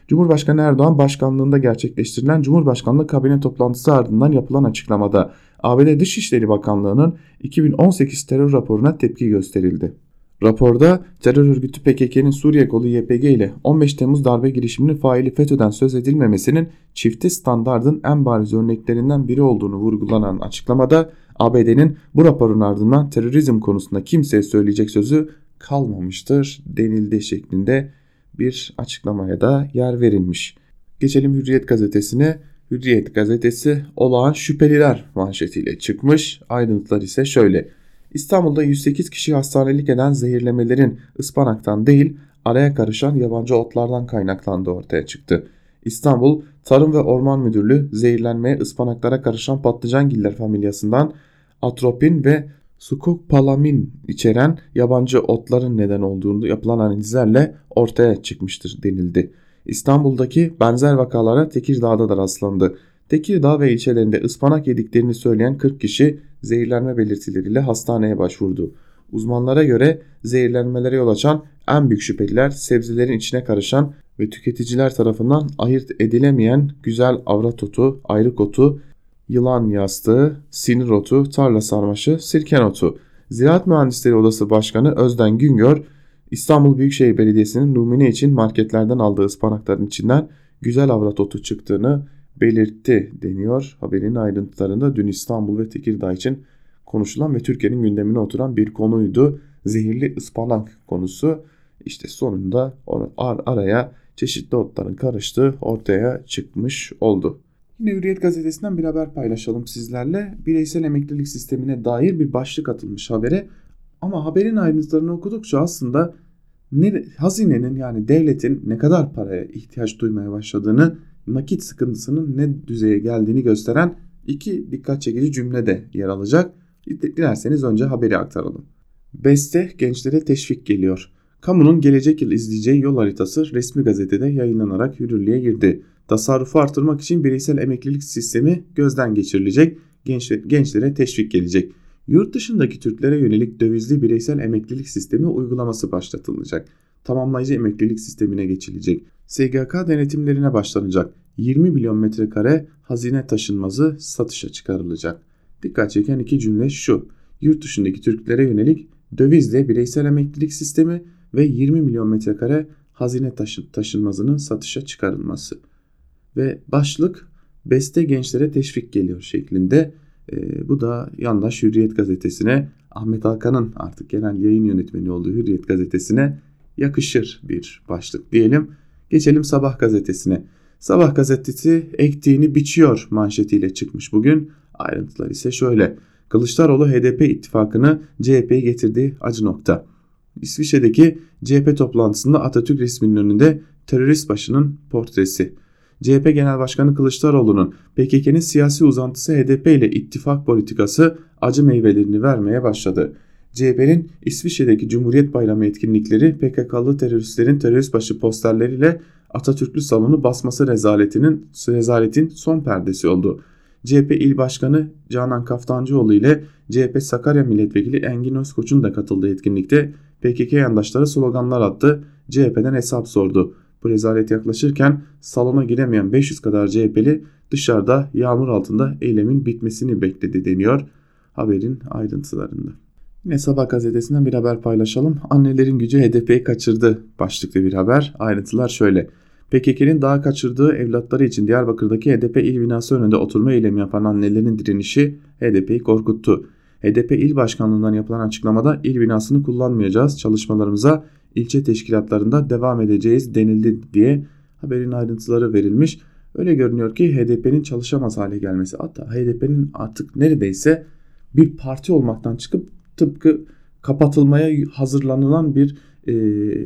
Cumhurbaşkanı Erdoğan başkanlığında gerçekleştirilen Cumhurbaşkanlığı kabine toplantısı ardından yapılan açıklamada A B D Dışişleri Bakanlığı'nın iki bin on sekiz terör raporuna tepki gösterildi. Raporda terör örgütü P K K'nin Suriye kolu Y P G ile on beş Temmuz darbe girişiminin faili FETÖ'den söz edilmemesinin çifte standardın en bariz örneklerinden biri olduğunu vurgulanan açıklamada A B D'nin bu raporun ardından terörizm konusunda kimseye söyleyecek sözü kalmamıştır denildi şeklinde bir açıklamaya da yer verilmiş. Geçelim Hürriyet gazetesine. Hürriyet gazetesi olağan şüpheliler manşetiyle çıkmış. Ayrıntılar ise şöyle. İstanbul'da yüz sekiz kişi hastanelik eden zehirlemelerin ıspanaktan değil araya karışan yabancı otlardan kaynaklandığı ortaya çıktı. İstanbul Tarım ve Orman Müdürlüğü zehirlenmeye ıspanaklara karışan patlıcangiller familyasından atropin ve sukopalamin içeren yabancı otların neden olduğunu yapılan analizlerle ortaya çıkmıştır denildi. İstanbul'daki benzer vakalara Tekirdağ'da da rastlandı. Tekirdağ ve ilçelerinde ıspanak yediklerini söyleyen kırk kişi zehirlenme belirtileriyle hastaneye başvurdu. Uzmanlara göre zehirlenmelere yol açan en büyük şüpheliler sebzelerin içine karışan ve tüketiciler tarafından ayırt edilemeyen güzel avrat otu, ayrık otu, yılan yastığı, sinir otu, tarla sarmaşı, sirken otu. Ziraat Mühendisleri Odası Başkanı Özden Güngör, İstanbul Büyükşehir Belediyesi'nin numune için marketlerden aldığı ıspanakların içinden güzel avrat otu çıktığını belirtti deniyor. Haberin ayrıntılarında dün İstanbul ve Tekirdağ için konuşulan ve Türkiye'nin gündemine oturan bir konuydu. Zehirli ıspanak konusu. İşte sonunda ar araya çeşitli otların karıştığı ortaya çıkmış oldu. Yine Hürriyet gazetesinden bir haber paylaşalım sizlerle. Bireysel emeklilik sistemine dair bir başlık atılmış habere. Ama haberin ayrıntılarını okudukça aslında ne, hazinenin yani devletin ne kadar paraya ihtiyaç duymaya başladığını, nakit sıkıntısının ne düzeye geldiğini gösteren iki dikkat çekici cümle de yer alacak. Dilerseniz önce haberi aktaralım. BES'te gençlere teşvik geliyor. Kamunun gelecek yıl izleyeceği yol haritası resmi gazetede yayınlanarak yürürlüğe girdi. Tasarrufu artırmak için bireysel emeklilik sistemi gözden geçirilecek, gençlere teşvik gelecek. Yurt dışındaki Türklere yönelik dövizli bireysel emeklilik sistemi uygulaması başlatılacak. Tamamlayıcı emeklilik sistemine geçilecek. S G K denetimlerine başlanacak. yirmi milyon metrekare hazine taşınmazı satışa çıkarılacak. Dikkat çeken iki cümle şu: yurt dışındaki Türklere yönelik dövizle bireysel emeklilik sistemi ve yirmi milyon metrekare hazine taşı, taşınmazının satışa çıkarılması. Ve başlık BES'te gençlere teşvik geliyor şeklinde. E, bu da yandaş Hürriyet gazetesine, Ahmet Hakan'ın artık genel yayın yönetmeni olduğu Hürriyet gazetesine yakışır bir başlık diyelim. Geçelim Sabah gazetesine. Sabah gazetesi ektiğini biçiyor manşetiyle çıkmış bugün. Ayrıntılar ise şöyle. Kılıçdaroğlu H D P ittifakını C H P'ye getirdiği acı nokta. İsviçre'deki C H P toplantısında Atatürk resminin önünde terörist başının portresi. C H P Genel Başkanı Kılıçdaroğlu'nun P K K'nin siyasi uzantısı H D P ile ittifak politikası acı meyvelerini vermeye başladı. C H P'nin İsviçre'deki Cumhuriyet Bayramı etkinlikleri P K K'lı teröristlerin terörist başı posterleriyle Atatürklü salonu basması rezaletinin rezaletin son perdesi oldu. C H P İl Başkanı Canan Kaftancıoğlu ile C H P Sakarya Milletvekili Engin Özkoç'un da katıldığı etkinlikte P K K yandaşları sloganlar attı, C H P'den hesap sordu. Bu rezalet yaklaşırken salona giremeyen beş yüz kadar C H P'li dışarıda yağmur altında eylemin bitmesini bekledi deniyor haberin ayrıntılarında. Yine Sabah gazetesinden bir haber paylaşalım. Annelerin gücü H D P'yi kaçırdı başlıklı bir haber. Ayrıntılar şöyle. P K K'nin daha kaçırdığı evlatları için Diyarbakır'daki H D P il binası önünde oturma eylemi yapan annelerin direnişi H D P'yi korkuttu. H D P il başkanlığından yapılan açıklamada il binasını kullanmayacağız, çalışmalarımıza ilçe teşkilatlarında devam edeceğiz denildi diye haberin ayrıntıları verilmiş. Öyle görünüyor ki H D P'nin çalışamaz hale gelmesi, hatta H D P'nin artık neredeyse bir parti olmaktan çıkıp tıpkı kapatılmaya hazırlanılan bir e,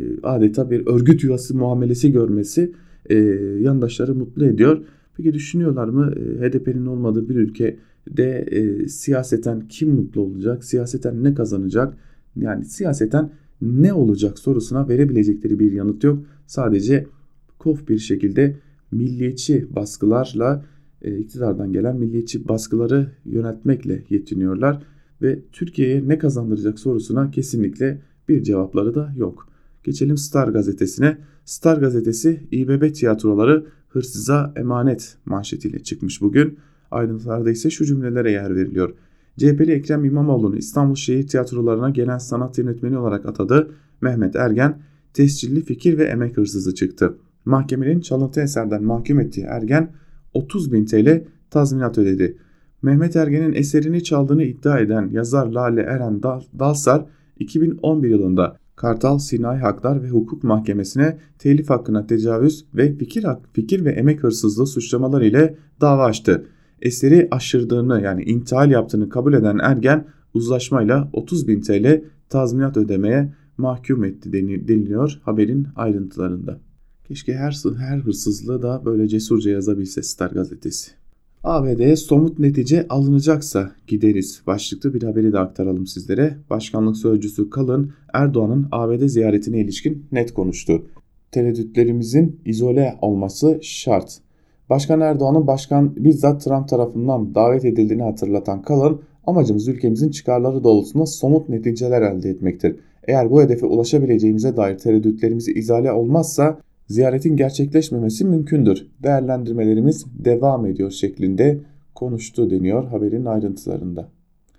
adeta bir örgüt üyesi muamelesi görmesi e, yandaşları mutlu ediyor. Peki düşünüyorlar mı e, H D P'nin olmadığı bir ülkede e, siyaseten kim mutlu olacak, siyaseten ne kazanacak, yani siyaseten ne olacak sorusuna verebilecekleri bir yanıt yok. Sadece kof bir şekilde milliyetçi baskılarla e, iktidardan gelen milliyetçi baskıları yöneltmekle yetiniyorlar ve Türkiye'ye ne kazandıracak sorusuna kesinlikle bir cevapları da yok. Geçelim Star gazetesine. Star gazetesi İBB tiyatroları hırsıza emanet manşetiyle çıkmış bugün. Ayrıntılarda ise şu cümlelere yer veriliyor. C H P'li Ekrem İmamoğlu'nu İstanbul Şehir Tiyatrolarına gelen sanat yönetmeni olarak atadı. Mehmet Ergen tescilli fikir ve emek hırsızı çıktı. Mahkemenin çalıntı eserden mahkum ettiği Ergen otuz bin T L tazminat ödedi. Mehmet Ergen'in eserini çaldığını iddia eden yazar Lale Eren Dalsar iki bin on bir yılında Kartal Sinayi Haklar ve Hukuk Mahkemesi'ne telif hakkına tecavüz ve fikir, fikir ve emek hırsızlığı suçlamaları ile dava açtı. Eseri aşırdığını yani intihal yaptığını kabul eden Ergen uzlaşmayla otuz bin T L tazminat ödemeye mahkum etti deniliyor haberin ayrıntılarında. Keşke her, her hırsızlığı da böyle cesurca yazabilse Star gazetesi. A B D'ye somut netice alınacaksa gideriz başlıklı bir haberi de aktaralım sizlere. Başkanlık sözcüsü Kalın Erdoğan'ın A B D ziyaretine ilişkin net konuştu. Tereddütlerimizin izole olması şart. Başkan Erdoğan'ın başkan bizzat Trump tarafından davet edildiğini hatırlatan Kalın, amacımız ülkemizin çıkarları doğrultusunda somut neticeler elde etmektir. Eğer bu hedefe ulaşabileceğimize dair tereddütlerimiz izale olmazsa ziyaretin gerçekleşmemesi mümkündür. Değerlendirmelerimiz devam ediyor şeklinde konuştu deniyor haberin ayrıntılarında.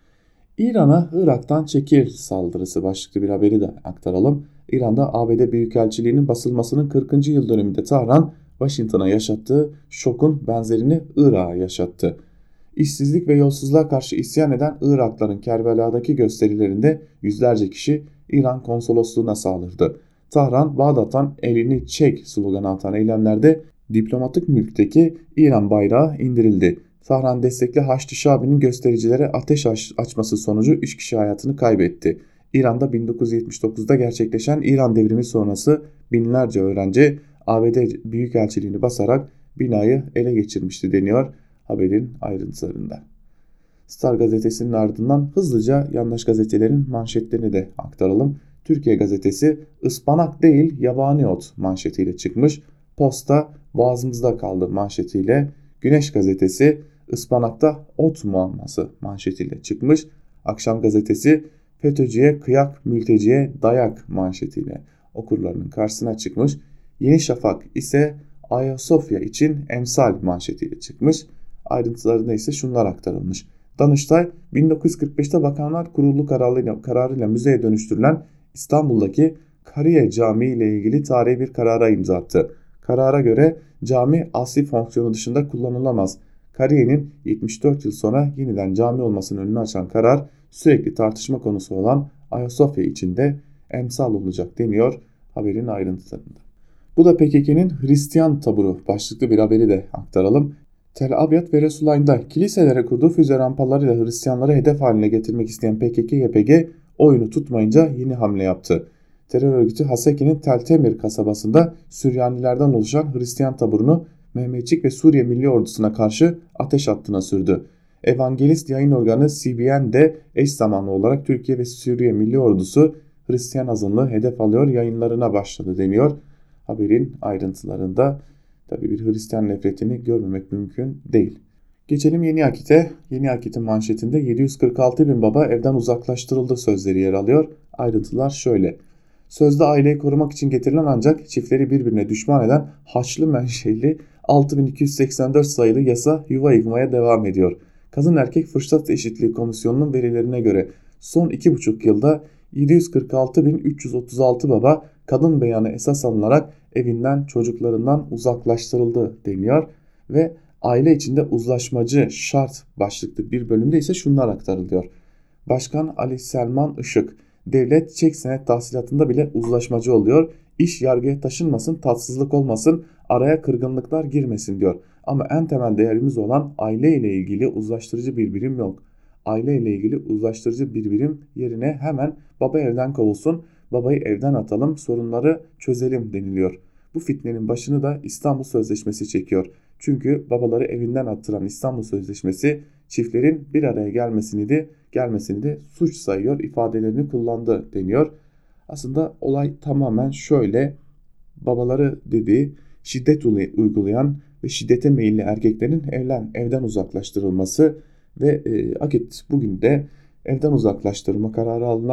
İran'a Irak'tan çekil saldırısı başlıklı bir haberi de aktaralım. İran'da A B D Büyükelçiliği'nin basılmasının kırkıncı yıl dönümünde Tahran, Washington'a yaşattığı şokun benzerini Irak'a yaşattı. İşsizlik ve yolsuzluğa karşı isyan eden Iraklıların Kerbela'daki gösterilerinde yüzlerce kişi İran konsolosluğuna saldırdı. Tahran, Bağdat'tan elini çek sloganı atan eylemlerde diplomatik mülkteki İran bayrağı indirildi. Tahran destekli Haçlı Şabi'nin göstericilere ateş açması sonucu üç kişi hayatını kaybetti. İran'da bin dokuz yüz yetmiş dokuzda gerçekleşen İran devrimi sonrası binlerce öğrenci A B D Büyükelçiliğini basarak binayı ele geçirmişti deniyor haberin ayrıntılarında. Star gazetesinin ardından hızlıca yandaş gazetelerin manşetlerini de aktaralım. Türkiye gazetesi ıspanak değil yabani ot manşetiyle çıkmış. Posta boğazımızda kaldı manşetiyle. Güneş gazetesi ıspanakta ot muamması manşetiyle çıkmış. Akşam gazetesi FETÖ'cüye kıyak mülteciye dayak manşetiyle okurlarının karşısına çıkmış. Yeni Şafak ise Ayasofya için emsal manşetiyle çıkmış. Ayrıntılarında ise şunlar aktarılmış. Danıştay bin dokuz yüz kırk beşte Bakanlar Kurulu kararıyla, kararıyla müzeye dönüştürülen İstanbul'daki Kariye Camii ile ilgili tarihi bir karara imza attı. Karara göre cami asli fonksiyonu dışında kullanılamaz. Kariye'nin yetmiş dört yıl sonra yeniden cami olmasının önünü açan karar sürekli tartışma konusu olan Ayasofya için de emsal olacak deniyor haberin ayrıntılarında. Bu da P K K'nin Hristiyan taburu başlıklı bir haberi de aktaralım. Tel Abyad ve Resulayn'da kiliselere kurduğu füze rampalarıyla Hristiyanları hedef haline getirmek isteyen P K K Y P G oyunu tutmayınca yeni hamle yaptı. Terör örgütü Haseki'nin Teltemir kasabasında Süryanilerden oluşan Hristiyan taburunu Mehmetçik ve Suriye Milli Ordusu'na karşı ateş hattına sürdü. Evangelist yayın organı C B N de eş zamanlı olarak Türkiye ve Suriye Milli Ordusu Hristiyan azınlığı hedef alıyor yayınlarına başladı deniyor. Haberin ayrıntılarında tabii bir Hristiyan nefretini görmemek mümkün değil. Geçelim Yeni Akit'e. Yeni Akit'in manşetinde yedi yüz kırk altı bin baba evden uzaklaştırıldı sözleri yer alıyor. Ayrıntılar şöyle. Sözde aileyi korumak için getirilen ancak çiftleri birbirine düşman eden Haçlı menşeli altı bin iki yüz seksen dört sayılı yasa yuva yıkmaya devam ediyor. Kadın Erkek Fırsat Eşitliği Komisyonu'nun verilerine göre son iki buçuk yılda yedi yüz kırk altı bin üç yüz otuz altı baba kadın beyanı esas alınarak evinden çocuklarından uzaklaştırıldı deniyor ve aile içinde uzlaşmacı şart başlıklı bir bölümde ise şunlar aktarılıyor. Başkan Ali Selman Işık, devlet çek senet tahsilatında bile uzlaşmacı oluyor. İş yargıya taşınmasın, tatsızlık olmasın, araya kırgınlıklar girmesin diyor. Ama en temel değerimiz olan aile ile ilgili uzlaştırıcı bir birim yok. Aile ile ilgili uzlaştırıcı bir birim yerine hemen baba evden kovulsun, babayı evden atalım, sorunları çözelim deniliyor. Bu fitnenin başını da İstanbul Sözleşmesi çekiyor. Çünkü babaları evinden attıran İstanbul Sözleşmesi çiftlerin bir araya gelmesini de gelmesini de suç sayıyor ifadelerini kullandı deniyor. Aslında olay tamamen şöyle, babaları dediği şiddet uygulayan ve şiddete meyilli erkeklerin evlen, evden uzaklaştırılması ve e, Akit bugün de evden uzaklaştırma kararı alınan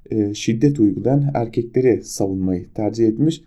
e, şiddet uygulayan erkekleri savunmayı tercih etmiş.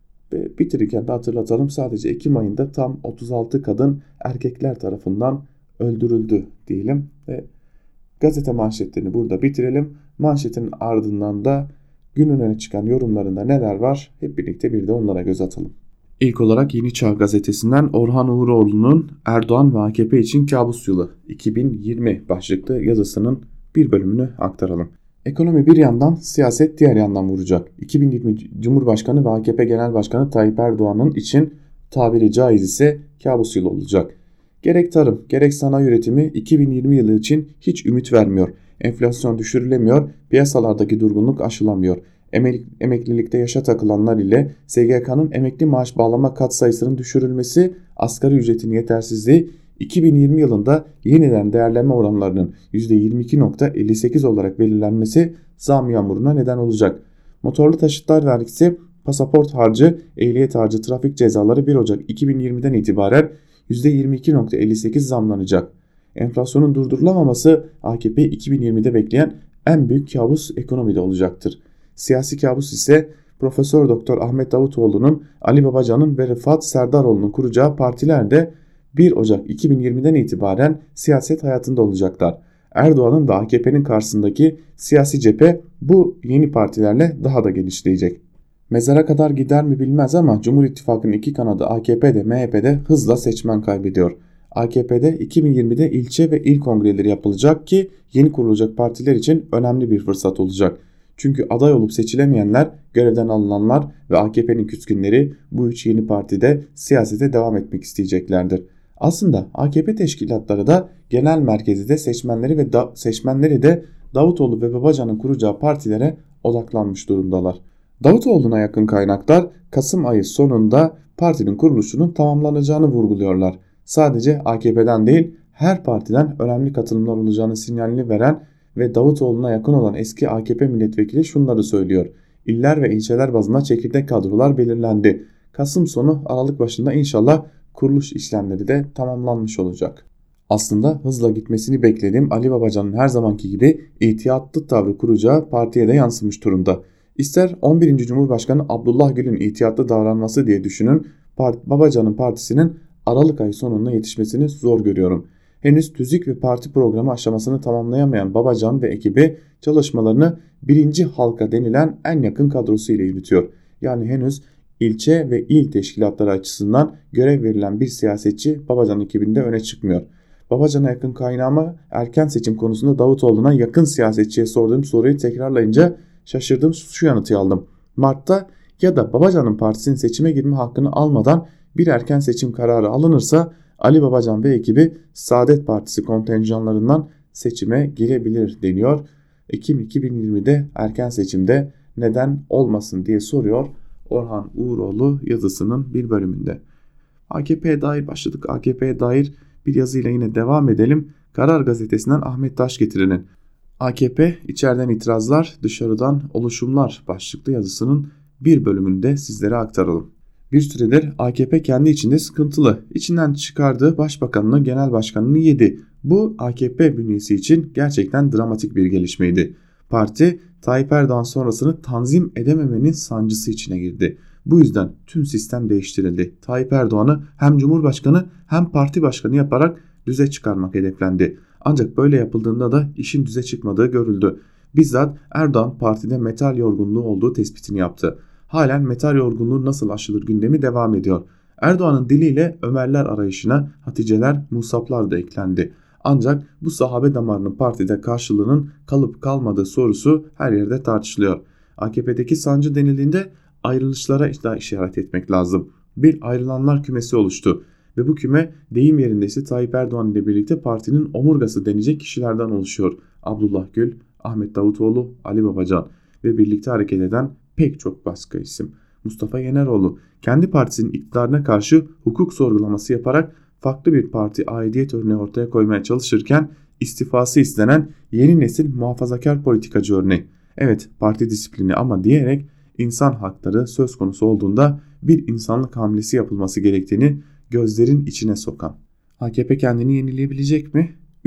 Ve bitirirken de hatırlatalım, sadece Ekim ayında tam otuz altı kadın erkekler tarafından öldürüldü diyelim ve gazete manşetlerini burada bitirelim. Manşetin ardından da günün öne çıkan yorumlarında neler var hep birlikte bir de onlara göz atalım. İlk olarak Yeni Çağ gazetesinden Orhan Uğuroğlu'nun Erdoğan ve A K P için kabus yılı iki bin yirmi başlıklı yazısının bir bölümünü aktaralım. Ekonomi bir yandan, siyaset diğer yandan vuracak. iki bin yirmi Cumhurbaşkanı ve A K P Genel Başkanı Tayyip Erdoğan'ın için tabiri caiz ise kabus yılı olacak. Gerek tarım gerek sanayi üretimi iki bin yirmi yılı için hiç ümit vermiyor. Enflasyon düşürülemiyor, piyasalardaki durgunluk aşılamıyor. Emek, emeklilikte yaşa takılanlar ile S G K'nın emekli maaş bağlama katsayısının düşürülmesi, asgari ücretin yetersizliği, iki bin yirmi yılında yeniden değerlenme oranlarının yüzde yirmi iki virgül elli sekiz olarak belirlenmesi zam yağmuruna neden olacak. Motorlu taşıtlar vergisi, pasaport harcı, ehliyet harcı, trafik cezaları bir Ocak iki bin yirmiden itibaren yüzde yirmi iki virgül elli sekiz zamlanacak. Enflasyonun durdurulamaması A K P iki bin yirmide bekleyen en büyük kabus ekonomide olacaktır. Siyasi kabus ise Profesör Doktor Ahmet Davutoğlu'nun, Ali Babacan'ın ve Rıfat Serdaroğlu'nun kuracağı partiler de bir Ocak iki bin yirmiden itibaren siyaset hayatında olacaklar. Erdoğan'ın ve A K P'nin karşısındaki siyasi cephe bu yeni partilerle daha da genişleyecek. Mezara kadar gider mi bilmez ama Cumhur İttifakı'nın iki kanadı A K P'de M H P'de hızla seçmen kaybediyor. A K P'de iki bin yirmide ilçe ve il kongreleri yapılacak ki yeni kurulacak partiler için önemli bir fırsat olacak. Çünkü aday olup seçilemeyenler, görevden alınanlar ve A K P'nin küskünleri bu üç yeni partide siyasete devam etmek isteyeceklerdir. Aslında A K P teşkilatları da genel merkezi de seçmenleri ve da, seçmenleri de Davutoğlu ve Babacan'ın kuracağı partilere odaklanmış durumdalar. Davutoğlu'na yakın kaynaklar Kasım ayı sonunda partinin kuruluşunun tamamlanacağını vurguluyorlar. Sadece A K P'den değil her partiden önemli katılımlar olacağını sinyalini veren ve Davutoğlu'na yakın olan eski A K P milletvekili şunları söylüyor. İller ve ilçeler bazında çekirdek kadrolar belirlendi. Kasım sonu Aralık başında inşallah kuruluş işlemleri de tamamlanmış olacak. Aslında hızla gitmesini beklediğim Ali Babacan'ın her zamanki gibi ihtiyatlı tavrı kuracağı partiye de yansımış durumda. İster on birinci Cumhurbaşkanı Abdullah Gül'ün ihtiyatlı davranması diye düşünün, Babacan'ın partisinin Aralık ayı sonuna yetişmesini zor görüyorum. Henüz tüzük ve parti programı aşamasını tamamlayamayan Babacan ve ekibi çalışmalarını birinci halka denilen en yakın kadrosu ile yürütüyor. Yani henüz ilçe ve il teşkilatları açısından görev verilen bir siyasetçi Babacan ekibinde öne çıkmıyor. Babacan'a yakın kaynağıma erken seçim konusunda Davutoğlu'na yakın siyasetçiye sorduğum soruyu tekrarlayınca şaşırdım, şu yanıtı aldım. Mart'ta ya da Babacan'ın partisinin seçime girme hakkını almadan bir erken seçim kararı alınırsa Ali Babacan ve ekibi Saadet Partisi kontenjanlarından seçime girebilir deniyor. Ekim iki bin yirmide erken seçimde neden olmasın diye soruyor Orhan Uğuroğlu yazısının bir bölümünde. A K P'ye dair başladık. A K P'ye dair bir yazıyla yine devam edelim. Karar Gazetesi'nden Ahmet Taşgetiren'in A K P içeriden itirazlar, dışarıdan oluşumlar başlıklı yazısının bir bölümünde sizlere aktaralım. Bir süredir A K P kendi içinde sıkıntılı. İçinden çıkardığı başbakanını, genel başkanını yedi. Bu A K P bünyesi için gerçekten dramatik bir gelişmeydi. Parti Tayyip Erdoğan sonrasını tanzim edememenin sancısı içine girdi. Bu yüzden tüm sistem değiştirildi. Tayyip Erdoğan'ı hem Cumhurbaşkanı hem parti başkanı yaparak düze çıkarmak hedeflendi. Ancak böyle yapıldığında da işin düze çıkmadığı görüldü. Bizzat Erdoğan partide metal yorgunluğu olduğu tespitini yaptı. Halen metal yorgunluğu nasıl aşılır gündemi devam ediyor. Erdoğan'ın diliyle Ömerler arayışına Haticeler, Musablar da eklendi. Ancak bu sahabe damarının partide karşılığının kalıp kalmadığı sorusu her yerde tartışılıyor. A K P'deki sancı denildiğinde ayrılışlara da işaret etmek lazım. Bir ayrılanlar kümesi oluştu ve bu küme deyim yerindeyse Tayyip Erdoğan ile birlikte partinin omurgası denecek kişilerden oluşuyor. Abdullah Gül, Ahmet Davutoğlu, Ali Babacan ve birlikte hareket eden pek çok başka isim. Mustafa Yeneroğlu kendi partisinin iktidarına karşı hukuk sorgulaması yaparak farklı bir parti aidiyet örneği ortaya koymaya çalışırken istifası istenen yeni nesil muhafazakar politikacı örneği. Evet, parti disiplini ama diyerek insan hakları söz konusu olduğunda bir insanlık hamlesi yapılması gerektiğini gözlerin içine sokan. A K P kendini yenileyebilecek mi?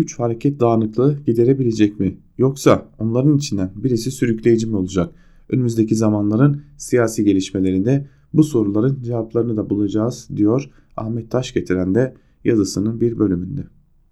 üç hareket dağınıklığı giderebilecek mi? Yoksa onların içinden birisi sürükleyici mi olacak? Önümüzdeki zamanların siyasi gelişmelerinde bu soruların cevaplarını da bulacağız diyor Ahmet Taşgetiren de yazısının bir bölümünde.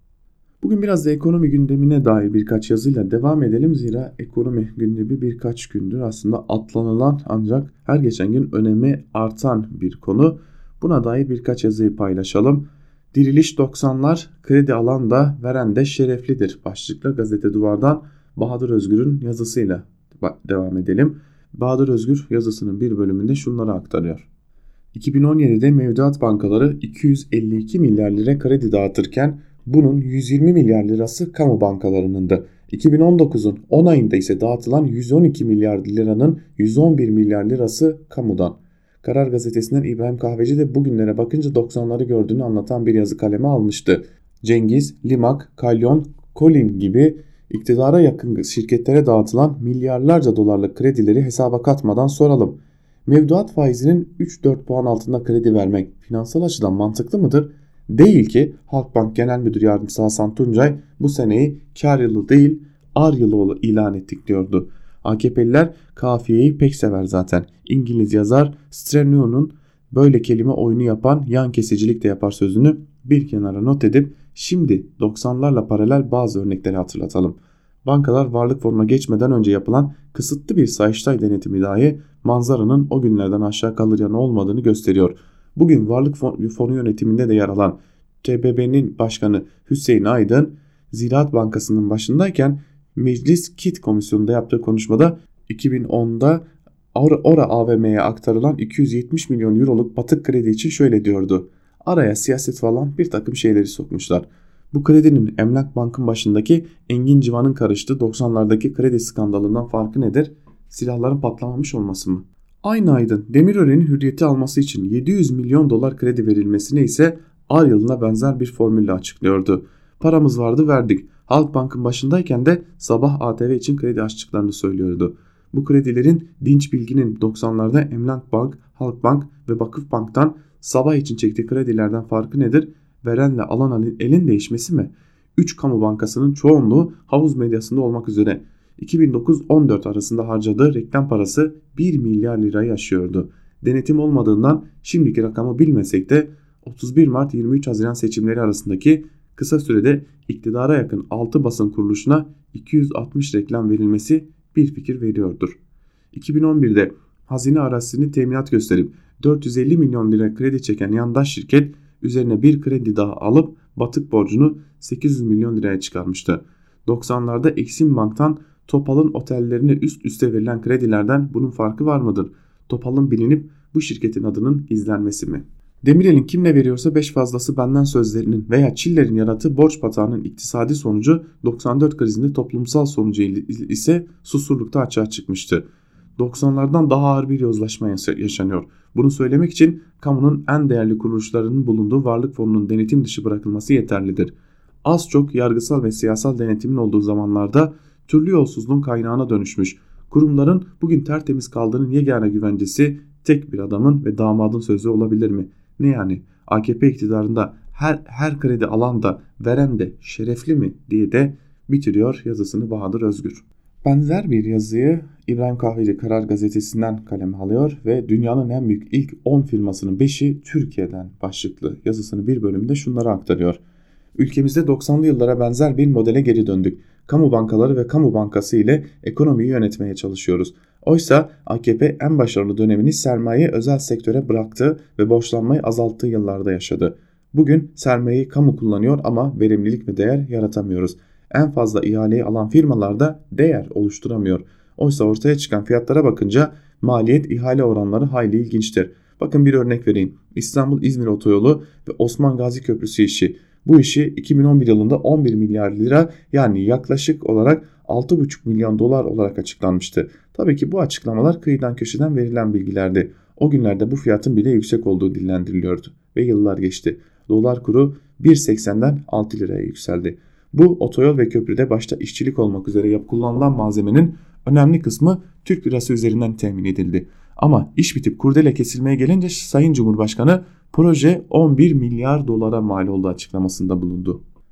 Bugün biraz da ekonomi gündemine dair birkaç yazıyla devam edelim. Zira ekonomi gündemi birkaç gündür aslında atlanılan ancak her geçen gün önemi artan bir konu. Buna dair birkaç yazıyı paylaşalım. Diriliş doksanlar, kredi alan da veren de şereflidir başlıklı Gazete Duvar'dan Bahadır Özgür'ün yazısıyla devam edelim. Bahadır Özgür yazısının bir bölümünde şunları aktarıyor. iki bin on yedide mevduat bankaları iki yüz elli iki milyar lira kredi dağıtırken bunun yüz yirmi milyar lirası kamu bankalarınındı. iki bin on dokuzun on ayında ise dağıtılan yüz on iki milyar liranın yüz on bir milyar lirası kamudan. Karar Gazetesi'nden İbrahim Kahveci de bugünlere bakınca doksanları gördüğünü anlatan bir yazı kaleme almıştı. Cengiz, Limak, Kalyon, Colin gibi iktidara yakın şirketlere dağıtılan milyarlarca dolarlık kredileri hesaba katmadan soralım. Mevduat faizinin üç dört puan altında kredi vermek finansal açıdan mantıklı mıdır? Değil ki Halkbank Genel Müdür Yardımcısı Hasan Tuncay bu seneyi kar yılı değil ar yılı ilan ettik diyordu. A K P'liler kafiyeyi pek sever zaten. İngiliz yazar Strenou'nun böyle kelime oyunu yapan yan kesicilik de yapar sözünü bir kenara not edip şimdi doksanlarla paralel bazı örnekleri hatırlatalım. Bankalar varlık fonuna geçmeden önce yapılan kısıtlı bir Sayıştay denetimi dahi manzaranın o günlerden aşağı kalır yanı olmadığını gösteriyor. Bugün varlık fonu yönetiminde de yer alan T B B'nin başkanı Hüseyin Aydın Ziraat Bankası'nın başındayken Meclis Kit Komisyonu'nda yaptığı konuşmada iki bin onda Ora A V M'ye aktarılan iki yüz yetmiş milyon euroluk batık kredi için şöyle diyordu. Araya siyaset falan bir takım şeyleri sokmuşlar. Bu kredinin Emlak Bank'ın başındaki Engin Civan'ın karıştığı doksanlardaki kredi skandalından farkı nedir? Silahların patlamamış olması mı? Aynı Aydın Demirören'in hürriyeti alması için yedi yüz milyon dolar kredi verilmesine ise ar yılına benzer bir formülle açıklıyordu. Paramız vardı verdik. Halkbank'ın başındayken de sabah A T V için kredi açtıklarını söylüyordu. Bu kredilerin Dinç Bilgi'nin doksanlarda Emlak Bank, Halkbank ve Vakıfbank'tan sabah için çektiği kredilerden farkı nedir? Verenle alan elin değişmesi mi? üç kamu bankasının çoğunluğu havuz medyasında olmak üzere iki bin dokuz on dört arasında harcadığı reklam parası bir milyar lirayı aşıyordu. Denetim olmadığından şimdiki rakamı bilmesek de otuz bir Mart yirmi üç Haziran seçimleri arasındaki kısa sürede iktidara yakın altı basın kuruluşuna iki yüz altmış reklam verilmesi bir fikir veriyordur. iki bin on birde hazine arazisini teminat gösterip dört yüz elli milyon lira kredi çeken yandaş şirket üzerine bir kredi daha alıp batık borcunu sekiz yüz milyon liraya çıkarmıştı. doksanlarda Exim Bank'tan Topal'ın otellerine üst üste verilen kredilerden bunun farkı var mıdır? Topal'ın bilinip bu şirketin adının gizlenmesi mi? Demirel'in kimle veriyorsa beş fazlası benden sözlerinin veya Çiller'in yarattığı borç batağının iktisadi sonucu doksan dört krizinde toplumsal sonucu ise susurlukta açığa çıkmıştı. doksanlardan daha ağır bir yozlaşma yaşanıyor. Bunu söylemek için kamunun en değerli kuruluşlarının bulunduğu varlık fonunun denetim dışı bırakılması yeterlidir. Az çok yargısal ve siyasal denetimin olduğu zamanlarda türlü yolsuzluğun kaynağına dönüşmüş. Kurumların bugün tertemiz kaldığının yegane güvencesi tek bir adamın ve damadın sözü olabilir mi? Ne yani A K P iktidarında her, her kredi alan da veren de şerefli mi diye de bitiriyor yazısını Bahadır Özgür. Benzer bir yazıyı İbrahim Kahveci Karar Gazetesi'nden kaleme alıyor ve dünyanın en büyük ilk on firmasının beşi Türkiye'den başlıklı yazısını bir bölümde şunları aktarıyor. Ülkemizde doksanlı yıllara benzer bir modele geri döndük. Kamu bankaları ve kamu bankası ile ekonomiyi yönetmeye çalışıyoruz. Oysa A K P en başarılı dönemini sermayeyi özel sektöre bıraktığı ve borçlanmayı azalttığı yıllarda yaşadı. Bugün sermayeyi kamu kullanıyor ama verimlilik ve değer yaratamıyoruz. En fazla ihaleyi alan firmalar da değer oluşturamıyor. Oysa ortaya çıkan fiyatlara bakınca maliyet ihale oranları hayli ilginçtir. Bakın bir örnek vereyim. İstanbul-İzmir otoyolu ve Osman Gazi Köprüsü işi. Bu işi iki bin on bir yılında on bir milyar lira yani yaklaşık olarak altı buçuk milyon dolar olarak açıklanmıştı. Tabii ki bu açıklamalar kıyıdan köşeden verilen bilgilerdi. O günlerde bu fiyatın bile yüksek olduğu dillendiriliyordu ve yıllar geçti. Dolar kuru bir seksenden altı liraya yükseldi. Bu otoyol ve köprüde başta işçilik olmak üzere kullanılan malzemenin önemli kısmı Türk lirası üzerinden temin edildi. Ama iş bitip kurdele kesilmeye gelince Sayın Cumhurbaşkanı proje on bir milyar dolara mal oldu açıklamasında bulundu.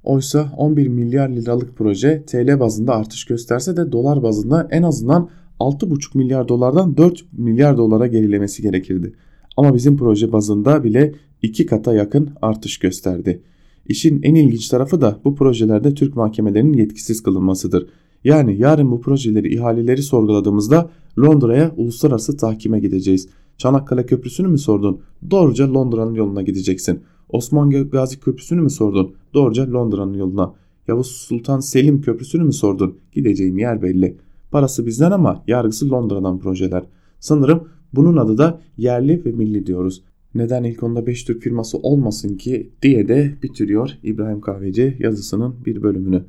Oysa on bir milyar liralık proje T L bazında artış gösterse de dolar bazında en azından altı buçuk milyar dolardan dört milyar dolara gerilemesi gerekirdi. Ama bizim proje bazında bile iki kata yakın artış gösterdi. İşin en ilginç tarafı da bu projelerde Türk mahkemelerinin yetkisiz kılınmasıdır. Yani yarın bu projeleri, ihaleleri sorguladığımızda Londra'ya uluslararası tahkime gideceğiz. Çanakkale Köprüsü'nü mü sordun? Doğruca Londra'nın yoluna gideceksin. Osman Gazi Köprüsü'nü mü sordun? Doğruca Londra'nın yoluna. Yavuz Sultan Selim Köprüsü'nü mü sordun? Gideceğin yer belli. Parası bizden ama yargısı Londra'dan projeler. Sanırım bunun adı da yerli ve milli diyoruz. Neden ilk onda beş Türk firması olmasın ki diye de bitiriyor İbrahim Kahveci yazısının bir bölümünü.